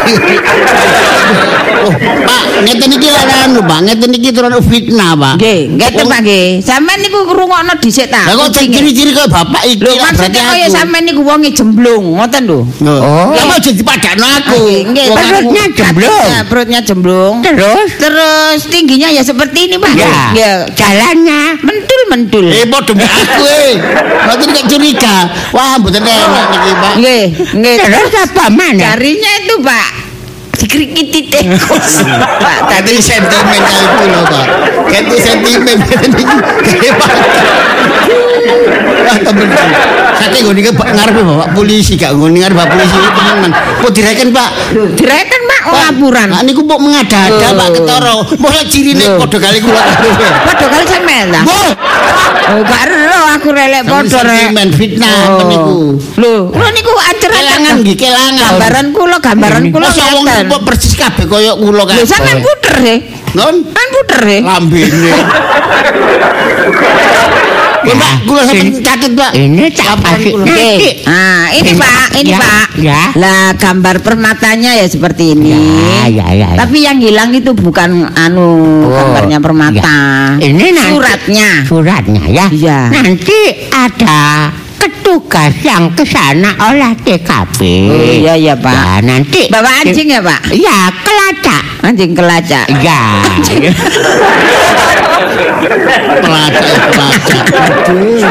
Speaker 1: Oh, Pak, ngeten iki anu, Pak. Ngeten iki turun fitnah, Pak.
Speaker 2: Nggih, ngeten Pak nggih. Sampeyan niku ngrungokno dhisik ta.
Speaker 1: Lah kok ciri-ciri kaya bapak iki
Speaker 2: Lho,
Speaker 1: lah, berarti
Speaker 2: maksudnya kaya
Speaker 1: aku.
Speaker 2: sampeyan niku wonge jemblung, ngoten lho.
Speaker 1: Oh, lah mau jadi padakno aku.
Speaker 2: Nggih,
Speaker 1: Wong aku-
Speaker 4: perutnya jemblung.
Speaker 2: Ya, perutnya jemblung.
Speaker 4: Terus?
Speaker 2: Terus tingginya ya seperti ini, Pak.
Speaker 4: Ya,
Speaker 2: Ya,
Speaker 4: jalannya.
Speaker 2: mentul-mentul.
Speaker 1: Eh, padha mbek aku eh. Nanti gak curiga. Wah, mboten enak niki, Pak.
Speaker 2: Nggih, nggih.
Speaker 4: Terus apa mana?
Speaker 2: Jarinya itu, Pak, dikrikiti tikus. Pak,
Speaker 1: Tadi sentimen kali kula, Pak. Ganti sentimen niki. Pak. Wah, temen. Saking ngene iki ngarepe Bapak polisi, gak ngene ngarep Bapak polisi tenan. Kok direken, Pak?
Speaker 2: direken, Pak. lapuran.
Speaker 1: Nah niku mbok mengada-ada Pak Ketara. Mosok cirine padha kali kula.
Speaker 2: Padha kali sampean ta? Oh, gak ero aku relek padha rek.
Speaker 1: Men fitnah niku.
Speaker 2: Lho, lho niku ancur-ancan
Speaker 1: nggih kelangan.
Speaker 2: Gambaran kula, gambaran kula
Speaker 1: wong kok persis kabeh kaya kula kan.
Speaker 2: Lho sampean puter he.
Speaker 1: Non?
Speaker 2: Kan puter he.
Speaker 1: Lambene. Ya, Pak, kula sampeyan catet, Pak.
Speaker 4: Ini tak kasih.
Speaker 2: Ah, ini Pak, ini
Speaker 4: ya,
Speaker 2: Pak.
Speaker 4: Ya.
Speaker 2: Lah gambar permatanya ya seperti ini.
Speaker 4: Ya, ya, ya, ya.
Speaker 2: Tapi yang hilang itu bukan anu
Speaker 4: Oh,
Speaker 2: gambarnya permata.
Speaker 4: Ya. Ini nanti,
Speaker 2: suratnya.
Speaker 4: Suratnya ya.
Speaker 2: Iya.
Speaker 4: Nanti ada petugas yang ke sana olah T K P.
Speaker 2: Oh, iya iya Pak.
Speaker 4: Ya, nanti
Speaker 2: bawa anjing ya Pak?
Speaker 4: Ya, kelacak.
Speaker 2: Anjing kelacak.
Speaker 4: Ya.
Speaker 1: Kelacak, kelacak. Aduh.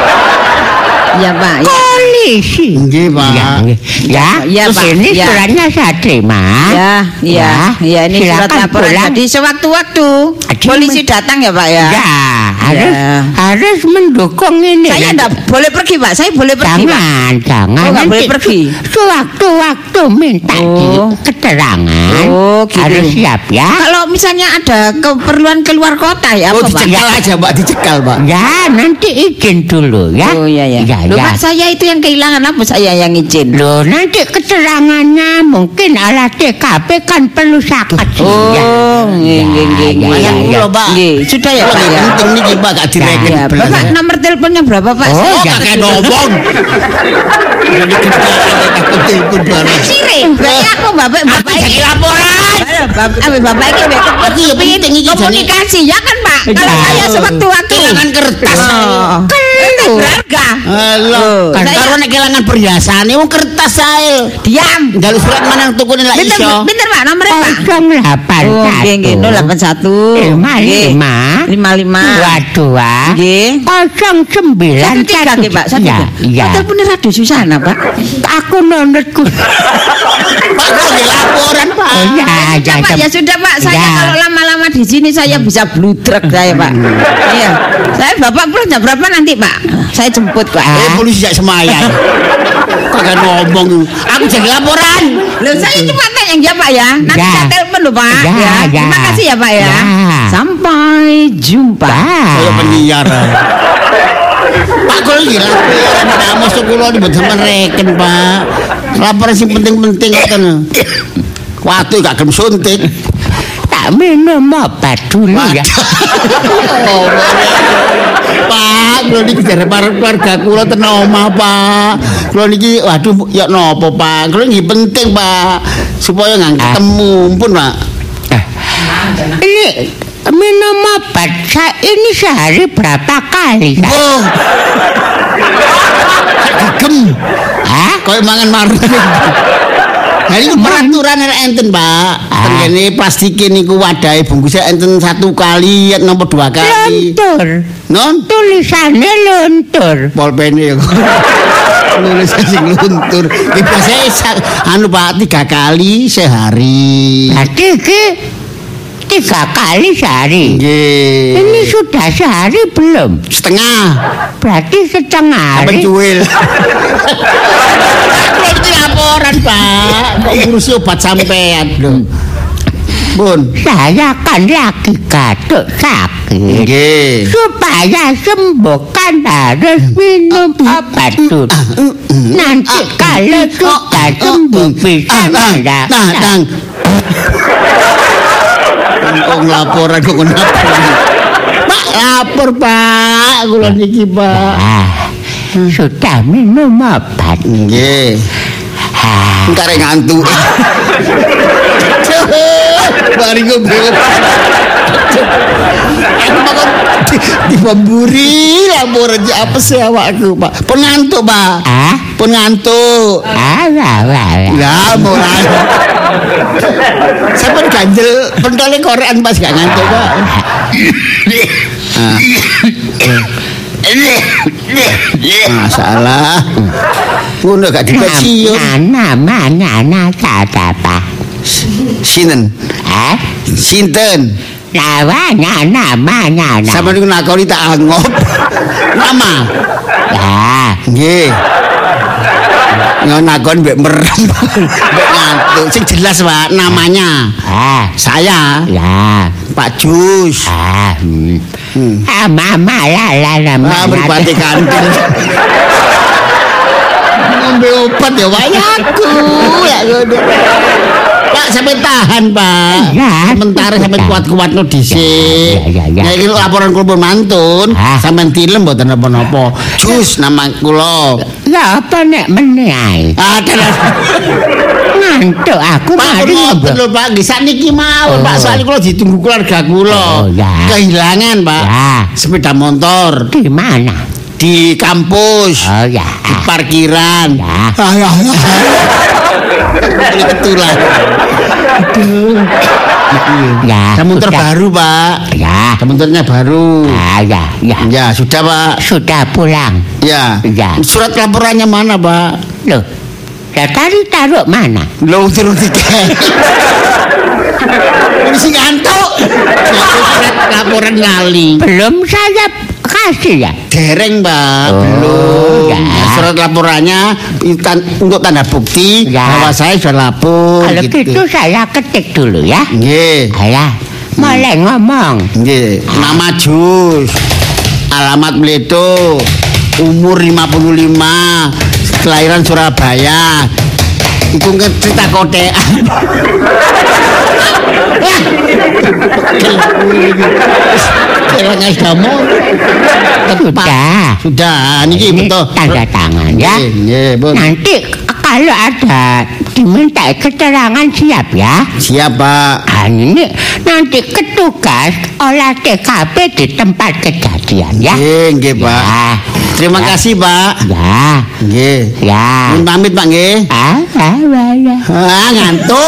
Speaker 2: Iya Pak. Ya.
Speaker 4: Polisi.
Speaker 1: Nggih, Pak.
Speaker 4: Ya, ya,
Speaker 2: Ya, Pak.
Speaker 4: Ini
Speaker 2: Ya.
Speaker 4: suratnya saya terima.
Speaker 2: Ya, iya, iya ini surat
Speaker 4: Silakan
Speaker 2: laporan.
Speaker 4: pulang.
Speaker 2: Jadi sewaktu-waktu
Speaker 4: Aduh,
Speaker 2: polisi datang ya Pak ya.
Speaker 4: Ya, harus
Speaker 2: Ya.
Speaker 4: harus mendukung ini.
Speaker 2: Saya
Speaker 4: Nanti-
Speaker 2: enggak boleh pergi Pak. Saya boleh pergi Pak.
Speaker 4: Jangan, jangan.
Speaker 2: Oh, nggak
Speaker 4: Nanti
Speaker 2: boleh pergi.
Speaker 4: Sewaktu-waktu minta
Speaker 2: Oh.
Speaker 4: di keterangan.
Speaker 2: Oh, gitu.
Speaker 4: Harus siap ya.
Speaker 2: Kalau misalnya ada keperluan keluar kota ya
Speaker 1: Oh,
Speaker 2: apa Pak?
Speaker 1: dicekal aja, Pak, dicekal, Pak.
Speaker 4: Ya, nanti izin dulu ya.
Speaker 2: Oh iya ya.
Speaker 4: Ya,
Speaker 2: Loh,
Speaker 4: ya.
Speaker 2: Pak, saya itu yang kehilangan apa saya yang izin?
Speaker 4: Loh, nanti keterangannya mungkin ala T K P kan perlu sakat.
Speaker 2: Oh,
Speaker 4: ya.
Speaker 2: nggih nggih nggih.
Speaker 4: Ya,
Speaker 2: nggih.
Speaker 4: ya, ya.
Speaker 1: Kula, Pak.
Speaker 2: Nggih, sudah ya Pak ya.
Speaker 1: Penting niki, Pak, gak direken.
Speaker 2: Ya, Bapak nomor teleponnya berapa Pak?
Speaker 4: Oh,
Speaker 2: Saya
Speaker 1: Oh,
Speaker 4: ya.
Speaker 1: kakek ngomong. Jadi kita takut telepon barang.
Speaker 2: Sire, berarti aku bapak bapak
Speaker 1: Aku jadi laporan.
Speaker 2: Bapak, bapak, bapak ini
Speaker 1: Aku ya penting iki jane.
Speaker 2: komunikasi ya kan Pak? Kalau
Speaker 4: Ya.
Speaker 2: saya sewaktu-waktu
Speaker 1: Kelangan kertas.
Speaker 2: Oh. Kertas berharga.
Speaker 1: Halo,
Speaker 2: Kan
Speaker 1: karo nek kelangan perhiasane wong kertas ae.
Speaker 2: Diam.
Speaker 1: Njaluk surat manang tukune lak
Speaker 2: Bentar,
Speaker 1: iso.
Speaker 2: bentar Pak, nomornya Pak.
Speaker 4: nol delapan
Speaker 2: Oh,
Speaker 4: satu.
Speaker 2: nggih nggih nol delapan satu
Speaker 4: Lima lima.
Speaker 2: lima lima
Speaker 4: Dua dua.
Speaker 2: nggih
Speaker 4: Kosong sembilan
Speaker 2: satu tiga nggih Pak satu
Speaker 4: Ya,
Speaker 2: tiga.
Speaker 4: ya.
Speaker 2: Oh, teleponnya Radio Susana Pak.
Speaker 4: Aku nonetku.
Speaker 1: Pak, kok nggih laporan, Pak.
Speaker 4: Oh, ya,
Speaker 2: Ya, Pak, ya sudah Pak, saya
Speaker 4: Ya.
Speaker 2: kalau lama-lama di sini saya bisa bludrek saya Pak. Iya. Saya Bapak pulang jam berapa nanti Pak? Saya jemput Pak.
Speaker 1: Eh, polisi jak semayang. Kagak ngomong. Aku jadi laporan.
Speaker 2: Loh, saya cuma tanya ya Pak ya. Nanti
Speaker 4: Ya.
Speaker 2: saya telepon loh Pak.
Speaker 4: Ya, ya.
Speaker 2: Terima kasih ya Pak ya.
Speaker 4: Ya.
Speaker 2: Sampai jumpa.
Speaker 1: Kaya penyiar. Pak, kok nggih laporan. Nah, mosok kula mboten sampean reken, Pak. Laporan sing penting-penting ngoten. Waduh, gak gelem suntik.
Speaker 4: Tak minum obat dulu ya.
Speaker 1: Oh, Pak, kula niki jare para keluarga kula ten omah, Pak. Kula niki waduh ya napa, Pak? Kula nggih penting, Pak. Supaya nggak ketemu, pun, Pak.
Speaker 4: Ini minum obat saya ini sehari berapa kali?
Speaker 1: Oh. Gegem.
Speaker 4: Hah?
Speaker 1: Koyo mangan marung. Nah ini peraturan enten Pak. Tengene plastike niku wadahe bungkusnya enten satu kali napa dua kali.
Speaker 4: Luntur.
Speaker 1: Non
Speaker 4: Tulisannya luntur.
Speaker 1: polpene ya. Nulis sing luntur. Iki biasane anu Pak tiga kali sehari.
Speaker 4: Berarti iki tiga kali sehari.
Speaker 1: Nggih.
Speaker 4: Ini sudah sehari belum?
Speaker 1: Setengah.
Speaker 4: Berarti setengah hari.
Speaker 1: Pencuil. Berarti laporan Pak. Kok ngurusi obat sampean lho. Bun.
Speaker 4: Saya kan lagi gatuk sakit.
Speaker 1: Nggih.
Speaker 4: Supaya sembuh kan harus minum obat dulu. Nanti kalau sudah sembuh bisa
Speaker 1: Nah,
Speaker 4: tidak.
Speaker 1: nah, nang. Kok laporan kok kenapa? Pak, lapor Pak. Kula niki Pak.
Speaker 4: Ah, sudah minum obat.
Speaker 1: Nggih.
Speaker 4: Ah,
Speaker 1: Entar ngantuk. Mari ngobrol. Aku bakal dibamburi laporan apa sih awakku Pak. Pun ngantuk Pak.
Speaker 4: ah,
Speaker 1: Pun ngantuk.
Speaker 4: ah, wah, wah, wah.
Speaker 1: Lah mulai. Sampai ganjel pentole korean pas gak ngantuk Pak. Ah. Masalah. Ngono gak dipecium.
Speaker 4: Namanya anak siapa?
Speaker 1: Sinten?
Speaker 4: Eh?
Speaker 1: Sinten?
Speaker 4: Namanya namanya nama.
Speaker 1: Sampe niku nakoni tak angop. Nama.
Speaker 4: Ya,
Speaker 1: Nggih. Ngonakon mbek merem. Mbek ngantuk. Sing jelas, Pak, namanya.
Speaker 4: Ah,
Speaker 1: Saya.
Speaker 4: ya.
Speaker 1: Pak Jus.
Speaker 4: Ah, hmm.
Speaker 1: Hmm.
Speaker 4: Ah, mama lah lah nama.
Speaker 1: Ah, berpati kantil. Ngombe obat ya wayaku. Ya ngono. Pak, sampai tahan, Pak.
Speaker 4: Ya,
Speaker 1: Sementara sampai
Speaker 4: ya.
Speaker 1: kuat-kuat no dhisik.
Speaker 4: Ya, ya, ya, ya.
Speaker 1: Nah, iki laporan kula mantun.
Speaker 4: Ah.
Speaker 1: Sampeyan tilem mboten napa-napa. Jus nama kula.
Speaker 4: Ya apa nek meneh ae.
Speaker 1: Ah,
Speaker 4: Ngantuk aku
Speaker 1: Pak,
Speaker 4: mari
Speaker 1: ngoten
Speaker 4: ngobrol.
Speaker 1: lho Pak, nggih sakniki mawon
Speaker 4: Oh.
Speaker 1: Pak, soalnya kula ditunggu keluarga kula.
Speaker 4: Oh, ya.
Speaker 1: Kehilangan, Pak.
Speaker 4: Ya.
Speaker 1: Sepeda motor
Speaker 4: Di mana?
Speaker 1: di kampus,
Speaker 4: Oh ya.
Speaker 1: di parkiran.
Speaker 4: Ya.
Speaker 1: Ah, ya, ya. Kebetulan.
Speaker 4: Ya.
Speaker 1: Motor
Speaker 4: sudah.
Speaker 1: baru, Pak.
Speaker 4: Ya.
Speaker 1: Motornya baru.
Speaker 4: Ah, ya, ya.
Speaker 1: Ya, sudah, Pak.
Speaker 4: Sudah pulang.
Speaker 1: Ya.
Speaker 4: Ya.
Speaker 1: Surat laporannya mana, Pak?
Speaker 4: Loh. Ya tadi taruh mana?
Speaker 1: Lo turun tiket. Polisi ngantuk. Surat laporan lali.
Speaker 4: Belum saya kasih ya.
Speaker 1: Dereng, Pak.
Speaker 4: Oh,
Speaker 1: Belum.
Speaker 4: ya.
Speaker 1: Nah, surat laporannya tan- untuk tanda bukti
Speaker 4: Ya.
Speaker 1: bahwa saya sudah lapor.
Speaker 4: Kalau gitu saya ketik dulu ya.
Speaker 1: Nggih.
Speaker 4: Alah, mulai ngomong.
Speaker 1: Nggih. Nama Jus. Alamat Bledo. Umur lima puluh lima. Kelahiran Surabaya. Iku cerita kotean. Kelangan kamu.
Speaker 4: Sudah.
Speaker 1: Sudah, niki
Speaker 4: Ini
Speaker 1: betul.
Speaker 4: tanda tangan ya.
Speaker 1: Nggih, nggih, Bun.
Speaker 4: Nanti kalau ada diminta keterangan siap ya.
Speaker 1: Siap, Pak.
Speaker 4: Ah, ini nanti petugas olah T K P di tempat kejadian ya.
Speaker 1: Nggih, nggih, Pak.
Speaker 4: Ya.
Speaker 1: Terima
Speaker 4: Ya.
Speaker 1: kasih, Pak.
Speaker 4: Ya.
Speaker 1: Nggih.
Speaker 4: Ya.
Speaker 1: Nyuwun pamit, Pak, nggih.
Speaker 4: Ah, ah, ah, ya.
Speaker 1: Ah, ngantuk.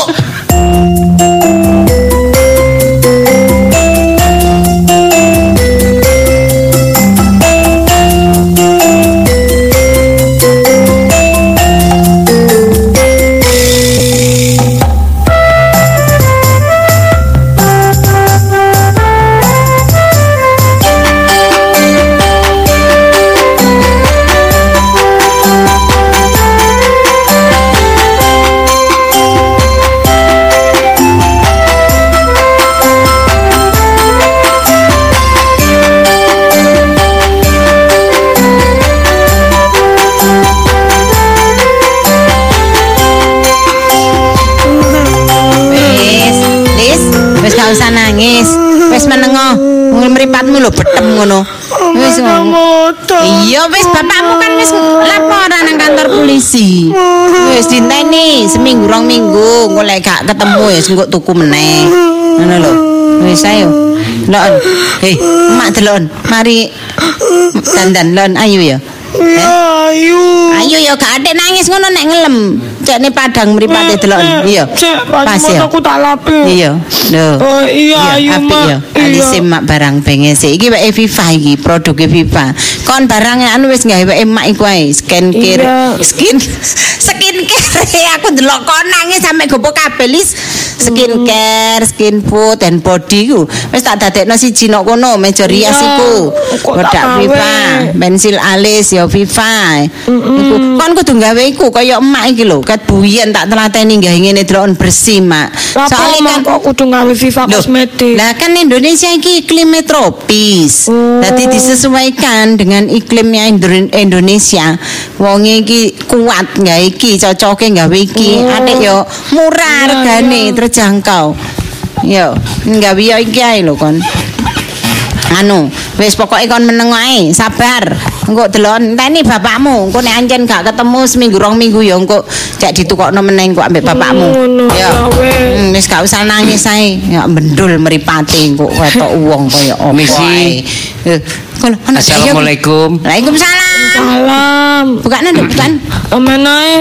Speaker 2: Wis, Lis, wis gak usah nangis. Wis menengo. Mripatmu lho betem ngono. Wis ngono. Iya wis bapakmu kan wis laporan nang kantor polisi. Wis dinteni seminggu rong minggu engko lek gak ketemu ya engko tuku meneh. Ngono lho. Wis ayo. Lon. Hei, mak delon. Mari dandan lon ayo ya.
Speaker 3: Ya, ayo.
Speaker 2: Ayo ya gak atik nangis ngono nek ngelem. Cekne padang mripate delok. Iya.
Speaker 3: Cek,
Speaker 2: Pas ya.
Speaker 3: aku tak lape.
Speaker 2: Iya. Lho.
Speaker 3: Oh, iya, ayo,
Speaker 2: apik
Speaker 3: Mak.
Speaker 2: ya.
Speaker 3: Iya.
Speaker 2: Alise mak barang benges. Iki wae Viva iki, produke Viva. Kon barang anu wis gawe wae mak iku ae, skincare.
Speaker 3: Iya.
Speaker 2: Skin skincare. Aku ndelok kon nangis sampe gopo kabeh lis. Skincare, skin food and body ku. Wis tak dadekno siji nok kono, meja rias
Speaker 3: Iya.
Speaker 2: iku.
Speaker 3: Kok tak
Speaker 2: Kodak
Speaker 3: gawe?
Speaker 2: Viva, pensil alis ya Viva. Iku kon kudu gawe iku kaya emak iki lho, ket buyen tak telateni gawe ngene delokon bersih, Mak.
Speaker 3: Soalnya kan kok kudu ngawe Viva
Speaker 2: Loh,
Speaker 3: kosmetik.
Speaker 2: lah kan Indonesia iki iklimnya tropis.
Speaker 3: Oh.
Speaker 2: Jadi disesuaikan dengan iklimnya Indo- Indonesia. Wong iki kuat nggak iki, cocoke nggawe iki.
Speaker 3: Oh.
Speaker 2: Atik yo murah
Speaker 3: Iya,
Speaker 2: regane,
Speaker 3: iya.
Speaker 2: terjangkau. Yo, nggawe yo iki ae lho kon. Anu, wis pokoke kon meneng ae, sabar. Engko delon enteni bapakmu, engko nek anjen gak ketemu seminggu rong minggu ya engko cek ditukokno meneh engko ambek bapakmu.
Speaker 3: Ngono,
Speaker 2: Ya.
Speaker 3: ya wes.
Speaker 2: Hmm, wis gak usah nangis ae. Ya mendul mripate engko wetok wong kaya apa
Speaker 5: Misi.
Speaker 2: ae. Eh, kono ana saya.
Speaker 5: Assalamualaikum.
Speaker 2: Waalaikumsalam.
Speaker 3: Salam.
Speaker 2: Bukan ada bukan.
Speaker 3: Amen ae.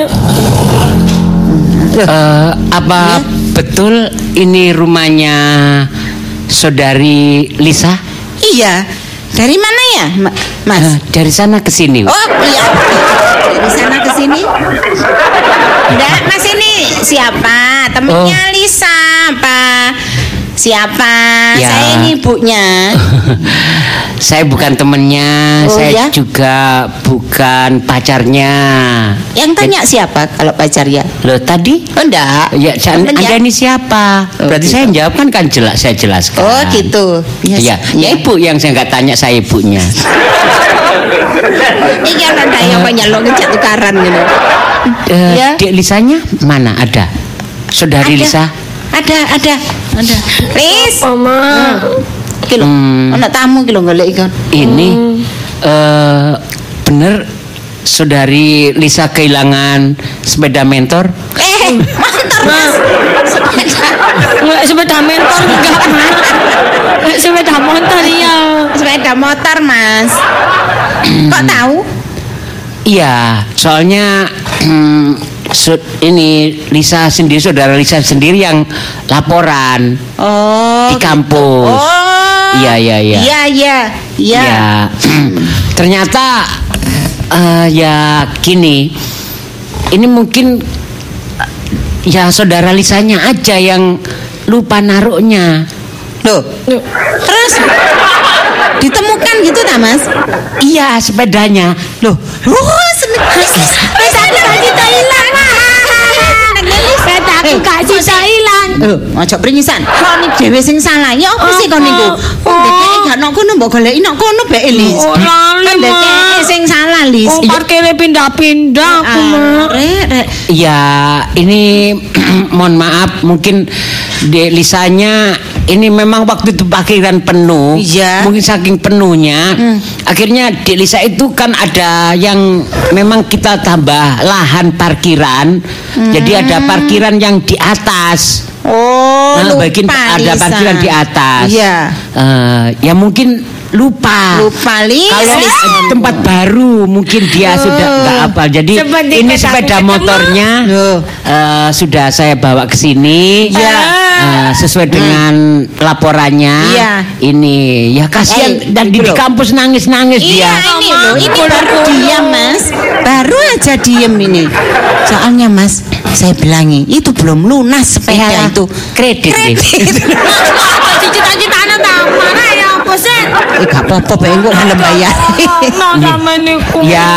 Speaker 5: Eh, apa
Speaker 2: Ya.
Speaker 5: betul ini rumahnya saudari Lisa?
Speaker 2: Iya. Dari mana ya, Ma- Mas?
Speaker 5: Eh, dari sana ke sini.
Speaker 2: Oh iya, dari sana ke sini. Enggak, Mas ini siapa? Temennya
Speaker 5: Oh.
Speaker 2: Lisa apa? Siapa?
Speaker 5: Ya.
Speaker 2: Saya ini ibunya.
Speaker 5: Saya bukan temennya,
Speaker 2: Oh,
Speaker 5: saya
Speaker 2: ya?
Speaker 5: juga bukan pacarnya.
Speaker 2: Yang tanya siapa kalau pacarnya?
Speaker 5: Loh tadi?
Speaker 2: Oh enggak.
Speaker 5: Ya, jangan
Speaker 2: Temen ya?
Speaker 5: Anda ini siapa?
Speaker 2: Oh,
Speaker 5: Berarti
Speaker 2: gitu.
Speaker 5: saya jawab kan kan jelas saya jelaskan.
Speaker 2: Oh gitu.
Speaker 5: Ya, ya ibu yang saya nggak tanya saya ibunya.
Speaker 2: Iki kan saya penyelok ngejak tukaran gitu.
Speaker 5: Eh,
Speaker 2: Ya.
Speaker 5: Dek Lisanya mana ada? Saudari
Speaker 2: Ada.
Speaker 5: Lisa?
Speaker 2: Ada, ada, ada. Lis.
Speaker 3: Mama.
Speaker 2: Iki lho,
Speaker 5: Hmm.
Speaker 2: ana tamu iki lho golek iki.
Speaker 5: Ini eh bener saudari Lisa kehilangan sepeda mentor?
Speaker 2: Eh, mantar Mas. Sepeda.
Speaker 3: Nggak sepeda motor enggak, Mak. Nggak sepeda motor iya.
Speaker 2: Sepeda motor, Mas. Kok tahu?
Speaker 5: Iya, soalnya hmm, su- ini Lisa sendiri, saudara Lisa sendiri yang laporan
Speaker 2: Oh.
Speaker 5: di kampus.
Speaker 2: Oh.
Speaker 5: Iya, iya, iya.
Speaker 2: Iya, iya. Iya.
Speaker 5: Ya, ternyata eh, ya gini, ini mungkin eh, ya saudara Lisanya aja yang lupa naruhnya.
Speaker 2: Loh. Terus ditemukan gitu tak, Mas?
Speaker 5: Iya, sepedanya. Loh,
Speaker 2: Oh, sepeda kita hilang.
Speaker 3: Sepeda aku gak sisa hilang.
Speaker 2: Lho, aja pringisan. Kok ni dhewe sing salah. Ya apa sih kon niku? Kok dekake gak nok kono mbok goleki nok kono bae Lis.
Speaker 3: Oh, lali,
Speaker 2: Kan dekake
Speaker 3: Mak.
Speaker 2: sing salah Lis.
Speaker 3: Oh, parkirnya pindah-pindah aku, Mak.
Speaker 2: Rek, rek.
Speaker 5: ya ini mohon maaf, mungkin Dek Lisanya ini memang waktu itu parkiran penuh.
Speaker 2: Iya.
Speaker 5: Mungkin saking penuhnya, akhirnya Dek Lisa itu kan ada yang memang kita tambah lahan parkiran. Jadi ada parkiran yang di atas.
Speaker 2: Oh,
Speaker 5: Nah,
Speaker 2: lupa
Speaker 5: bagian ada
Speaker 2: Lisa.
Speaker 5: parkiran di atas.
Speaker 2: Iya.
Speaker 5: Eh, ya mungkin lupa.
Speaker 2: Lupa Lis.
Speaker 5: Kalau eh, tempat baru mungkin dia sudah nggak apa. Jadi
Speaker 3: Seperti
Speaker 5: ini
Speaker 3: kataku
Speaker 5: sepeda
Speaker 3: ketemu.
Speaker 5: motornya
Speaker 2: Loh.
Speaker 5: eh, sudah saya bawa ke sini.
Speaker 2: Ya.
Speaker 5: Eh, sesuai dengan laporannya.
Speaker 2: Iya.
Speaker 5: Ini ya kasihan
Speaker 2: Eh,
Speaker 5: dan di,
Speaker 2: itu
Speaker 5: di
Speaker 2: loh.
Speaker 5: kampus nangis-nangis
Speaker 2: Iya,
Speaker 5: dia.
Speaker 2: ini loh, ini baru diam Mas. Baru aja diem ini. Soalnya Mas, saya bilangi itu belum lunas sepeda
Speaker 5: Ya,
Speaker 2: itu.
Speaker 5: kredit, nih.
Speaker 3: Cita-cita anak tak marah ya apa sih?
Speaker 2: Eh gak apa-apa bae kok gelem bayar.
Speaker 3: No, sama niku.
Speaker 5: Ya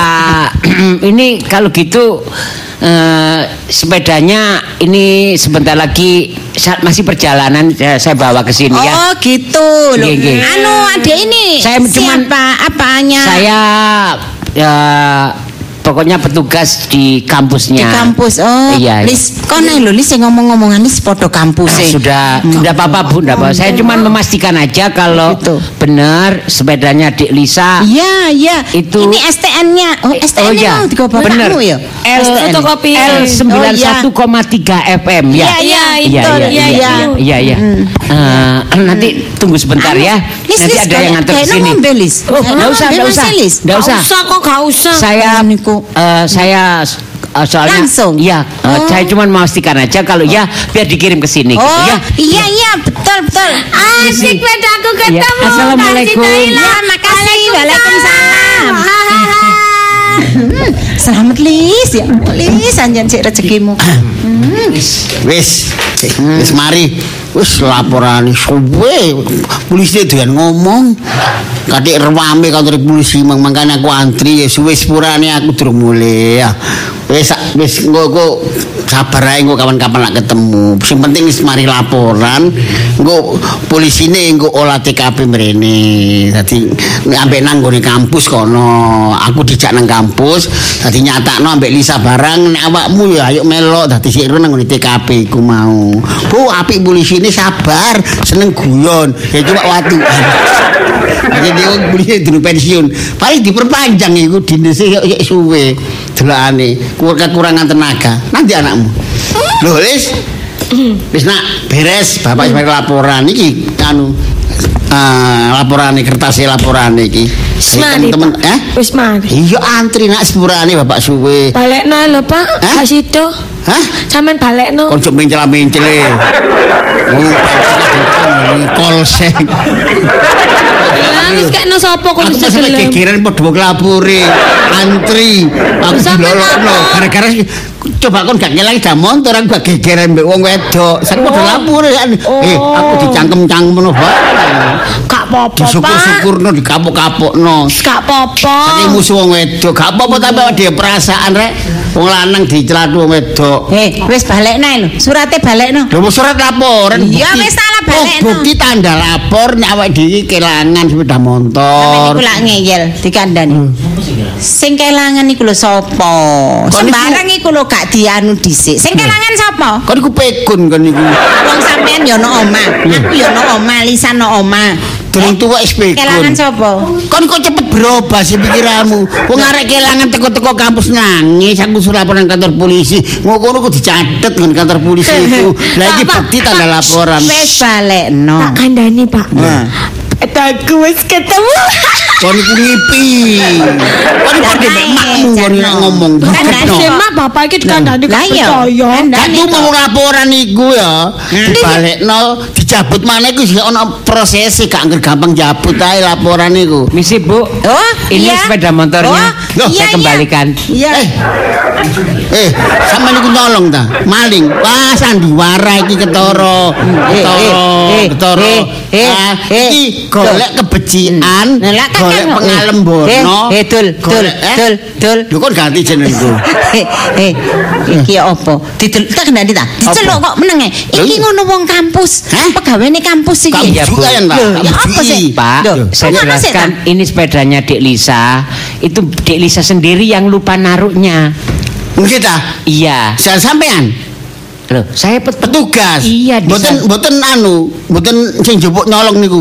Speaker 5: ini kalau gitu eh, sepedanya ini sebentar lagi saat masih perjalanan saya, saya bawa ke sini ya.
Speaker 2: Oh gitu loh.
Speaker 5: Iya, iya.
Speaker 2: Anu ada ini.
Speaker 5: Saya cuman-
Speaker 2: siapa apanya?
Speaker 5: Saya ya pokoknya petugas di kampusnya.
Speaker 2: Di kampus. Oh,
Speaker 5: Iya.
Speaker 2: Lis, kono lho Lis sing ngomong-ngomongan Lis padha kampus
Speaker 5: Ah, sudah, tidak apa-apa Bu, tidak apa. Saya cuma memastikan aja kalau
Speaker 2: Gitu.
Speaker 5: benar sepedanya Dik Lisa.
Speaker 2: Iya, iya.
Speaker 5: Itu-
Speaker 2: Ini S T N-nya. Oh, S T N-nya
Speaker 5: Oh iya,
Speaker 2: mau digo
Speaker 5: bener.
Speaker 2: bapakmu ya?
Speaker 5: L
Speaker 3: Fotokopi.
Speaker 5: L sembilan puluh satu koma tiga F M ya.
Speaker 3: Iya, iya,
Speaker 5: Iya,
Speaker 3: itu.
Speaker 5: iya,
Speaker 3: Iya,
Speaker 5: iya,
Speaker 3: iya.
Speaker 5: iya, iya. Eh, nanti tunggu sebentar
Speaker 2: Anu,
Speaker 5: ya.
Speaker 2: Lis,
Speaker 5: Nanti
Speaker 2: Lis,
Speaker 5: ada yang nganter ke
Speaker 2: kayaknya
Speaker 5: sini.
Speaker 2: ngombe, Lis.
Speaker 5: Oh,
Speaker 2: Kayaknya
Speaker 5: enggak usah,
Speaker 2: ngombe,
Speaker 5: enggak
Speaker 2: Mas
Speaker 5: usah.
Speaker 2: Lis.
Speaker 5: Enggak
Speaker 3: Gak
Speaker 5: usah.
Speaker 3: usah kok, gak usah.
Speaker 5: Saya
Speaker 2: Oh, niku.
Speaker 5: eh, saya eh, soalnya
Speaker 2: Langsung?
Speaker 5: iya, eh,
Speaker 2: Oh.
Speaker 5: saya cuma memastikan aja kalau ya biar dikirim ke sini gitu
Speaker 2: Oh,
Speaker 5: ya.
Speaker 2: iya iya betul betul.
Speaker 3: Asik sepedaku ketemu.
Speaker 5: Ya, Assalamualaikum.
Speaker 3: Kasih Thailand.
Speaker 2: Ya, makasih. Waalaikumsalam. Hmm, selamat Lis ya. Lis anjen sik rezekimu.
Speaker 1: Wis, wis mari. Wis laporan suwe. Polisi doyan ngomong. Katik rewame kantor polisi mangkane aku antri ya suwe sepurane aku durung mulai ya. Wis wis engko engko sabar ae engko kapan-kapan lak ketemu. Sing penting wis mari laporan. Engko polisine engko olah T K P mrene. Dadi ambek nang nggone kampus kono. Aku dijak nang kampus, dadi nyatakno ambek Lisa barang nek awakmu ya ayo melok dadi sik nang nggone T K P ku mau. Bu apik polisi ini sabar, seneng guyon. Ya cuma watu. Jadi dia polisi durung pensiun. Paling diperpanjang iku dinese yo suwe. Delokane kekurangan tenaga. Nanti anakmu. Lho, Lis. Wis nak beres bapak sampe laporan iki anu eh laporane kertas laporane iki.
Speaker 3: Mari,
Speaker 1: Temen
Speaker 3: Pak.
Speaker 1: eh
Speaker 3: Wis mari.
Speaker 1: iya antri nak sepurane bapak suwe.
Speaker 3: Balekno lho, Pak.
Speaker 1: Hah?
Speaker 3: Gak sido.
Speaker 1: Hah?
Speaker 3: Sampeyan balekno.
Speaker 1: Konco mencela-mencel e. Oh, kol seng.
Speaker 3: Lah wis kekno sapa kok
Speaker 1: Aku
Speaker 3: bisa
Speaker 1: pas
Speaker 3: gelem.
Speaker 1: gegeran padha wong lapure. antri aku dilolokno gara-gara coba kon gak ngelangi dah motor aku gak gegeran mbek wong wedok sak padha lapor eh aku dicangkem-cangkem ngono bae
Speaker 3: Gak apa-apa, Pak.
Speaker 1: Disyukur-syukurno dikapuk-kapukno.
Speaker 3: Gak apa-apa.
Speaker 1: Saking musuh wong wedok, gak apa-apa tapi dia perasaan rek. Wong lanang dicelathu wong wedok.
Speaker 2: Eh, wis balekno lho. Surate balekno.
Speaker 1: Lho surat laporan.
Speaker 2: Iya wis salah balekno.
Speaker 1: Oh, bukti tanda lapor nek awake dhewe kelangan sepeda motor.
Speaker 2: Sampe niku lak ngeyel dikandani. Sing kelangan iku lho sapa? Sembarang iku lho gak dianu dhisik. Sing kelangan sapa?
Speaker 1: Kon iku pekun kon niku.
Speaker 2: Wong sampean ya ono omah. Aku ya ono omah, Lisan ono omah.
Speaker 1: Durung tuwa wis pekun.
Speaker 2: Kelangan sapa?
Speaker 1: Kon kok cepet berubah sih pikiranmu. Wong arek kelangan teko-teko kampus nangis aku suruh laporan kantor polisi. Ngono ku dicatet nang kantor polisi itu. Lah iki bukti tanda laporan.
Speaker 2: Wis balekno.
Speaker 3: Tak kandani, Pak.
Speaker 1: Nah.
Speaker 3: Aku wis ketemu.
Speaker 1: Kon iku ngipi. Kon padha mek makmu kon ngomong.
Speaker 3: Mak bapak iki dikandani gak percaya.
Speaker 1: Aku mau laporan iku ya. Dibalekno dicabut maneh iku sih ana prosese gak gampang jabut ae laporan iku.
Speaker 5: Misi Bu.
Speaker 2: Oh,
Speaker 5: ini
Speaker 2: iya.
Speaker 5: sepeda motornya.
Speaker 2: Oh,
Speaker 5: Loh,
Speaker 2: iya,
Speaker 5: saya kembalikan.
Speaker 2: Iya.
Speaker 1: Eh. Eh, sampe niku nyolong ta? Maling. Wah, sandiwara iki ketara. Ketara, ketara. Ah, iki golek kebecikan, golek pengalembono.
Speaker 2: Eh, dul, dul, dul, dul.
Speaker 1: Lho kok ganti jenengku.
Speaker 2: Eh, eh, iki apa? Didel tak kendani ta? Diceluk kok meneng e. Iki ngono wong kampus. Pegawene kampus iki.
Speaker 1: Kamu juga ya, Pak?
Speaker 2: Ya apa sih?
Speaker 5: Pak,
Speaker 2: Loh,
Speaker 5: saya
Speaker 2: kok ana sih,
Speaker 5: jelaskan ini sepedanya Dek Lisa. Itu Dek Lisa sendiri yang lupa naruhnya.
Speaker 1: Nggih ta?
Speaker 5: Iya.
Speaker 1: Saya sampean.
Speaker 5: Loh, saya pet
Speaker 1: Petugas.
Speaker 5: Iya, di
Speaker 1: Mboten
Speaker 5: sana.
Speaker 1: mboten anu, mboten sing jupuk nyolong niku.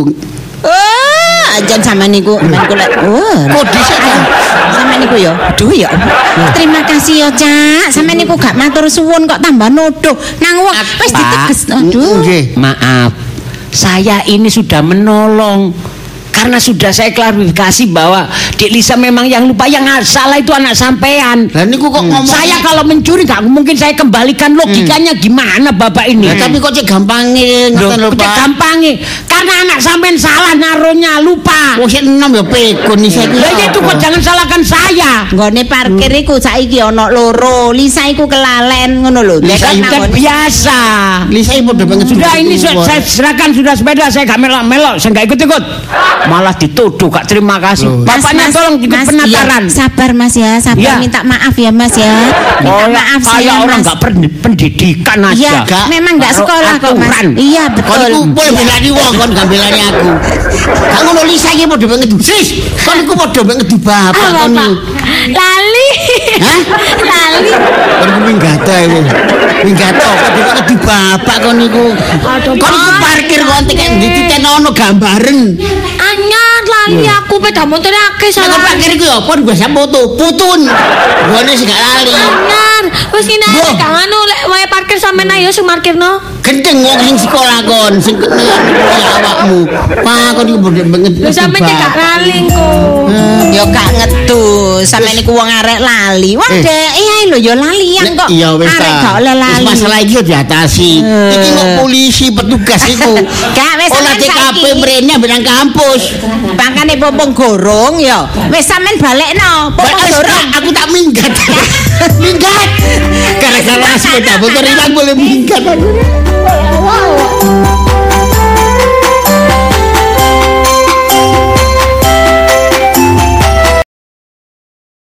Speaker 2: Oh, ajan sama niku, men kula. Oh,
Speaker 1: Kok dhisik ta?
Speaker 2: sama niku ya. Aduh ya. Terima kasih ya, Cak. Sama niku gak matur suwun kok tambah nuduh. Nang wong wis
Speaker 5: Pak.
Speaker 2: diteges. Aduh.
Speaker 1: Nggih.
Speaker 5: Maaf, saya ini sudah menolong karena sudah saya klarifikasi bahwa Dek Lisa memang yang lupa, yang salah itu anak sampean.
Speaker 1: Lah niku kok ngomong
Speaker 5: Saya kalau mencuri gak mungkin saya kembalikan, logikanya gimana Bapak ini?
Speaker 1: Lah, tapi kok cek gampange
Speaker 5: Loh,
Speaker 1: ngoten lho,
Speaker 5: cek
Speaker 1: Pak.
Speaker 5: gampange karena anak sampean salah naruhnya, lupa.
Speaker 1: Wong sing enom ya pekun iki saiki.
Speaker 5: Lah ya itu kok jangan salahkan saya.
Speaker 2: Nggone parkir iku saiki ana loro. Lisa iku kelalen ngono lho.
Speaker 1: Lisa
Speaker 2: Nek
Speaker 1: iku
Speaker 2: nang
Speaker 5: Kan biasa.
Speaker 1: Lisa iki padha banget.
Speaker 5: Sudah ini su- saya serahkan sudah sepeda, saya gak melok-melok, saya gak ikut-ikut. Malah dituduh gak terima kasih.
Speaker 1: Loh.
Speaker 5: Bapaknya tolong ikut
Speaker 2: Mas,
Speaker 5: penataran.
Speaker 2: iya, sabar Mas ya, sabar
Speaker 5: Iya.
Speaker 2: minta maaf ya Mas ya. Minta
Speaker 5: Oh,
Speaker 2: maaf
Speaker 5: kayak
Speaker 2: saya
Speaker 5: orang
Speaker 2: Mas.
Speaker 5: gak pen- pendidikan aja.
Speaker 2: Iya,
Speaker 1: Gak.
Speaker 2: memang gak
Speaker 5: Taruh
Speaker 2: sekolah kok Mas.
Speaker 5: aturan.
Speaker 2: Iya
Speaker 1: Kon
Speaker 2: betul.
Speaker 1: iku boleh belani wong kon gak belani aku. Gak ngono Lisa iki padha banget. Sis, kon iku padha banget di bapak
Speaker 3: Ah,
Speaker 1: kon
Speaker 3: Bapak.
Speaker 1: iku.
Speaker 3: Lali.
Speaker 1: Hah?
Speaker 3: Lali.
Speaker 1: Kon iku minggata iku. Minggata padha banget di bapak kon iku.
Speaker 3: Aduh,
Speaker 1: Kon iku
Speaker 3: Pak.
Speaker 1: parkir kon tekan dititenono gambaren.
Speaker 3: Anyar lali aku peda motornya akeh
Speaker 1: Nek kon
Speaker 3: salah.
Speaker 1: parkir iku ya pon gua foto, putun. Gone sing gak lali.
Speaker 3: Anyar. Wis ngene ae
Speaker 1: Loh.
Speaker 3: gak anu lek wae parkir sampean ayo sing parkirno.
Speaker 1: Gendeng wong sing sekolah kon sing kaya awakmu. Pak kon iku padha banget.
Speaker 3: Lho sampean cek gak lali kok.
Speaker 2: Ya gak ngedus, sampe niku wong arek lali. Wah,
Speaker 1: Eh.
Speaker 2: dek iya lho ya lalian
Speaker 1: Nek-
Speaker 2: kok.
Speaker 1: Iya wis
Speaker 2: Arek
Speaker 1: ta.
Speaker 2: gak oleh
Speaker 1: Wis
Speaker 2: lali.
Speaker 1: masalah iki yo diatasi. Iki kok polisi petugas iku.
Speaker 2: Gak, wis
Speaker 1: Olah
Speaker 2: sampean
Speaker 1: T K P
Speaker 2: saiki.
Speaker 1: mrene benang kampus.
Speaker 2: Bangkane popong gorong ya. Wis sampean balekno. Popong
Speaker 1: Wis,
Speaker 2: gorong.
Speaker 1: Kak, aku tak minggat. Minggat. Gara-gara sepeda motor ilang boleh minggat aku.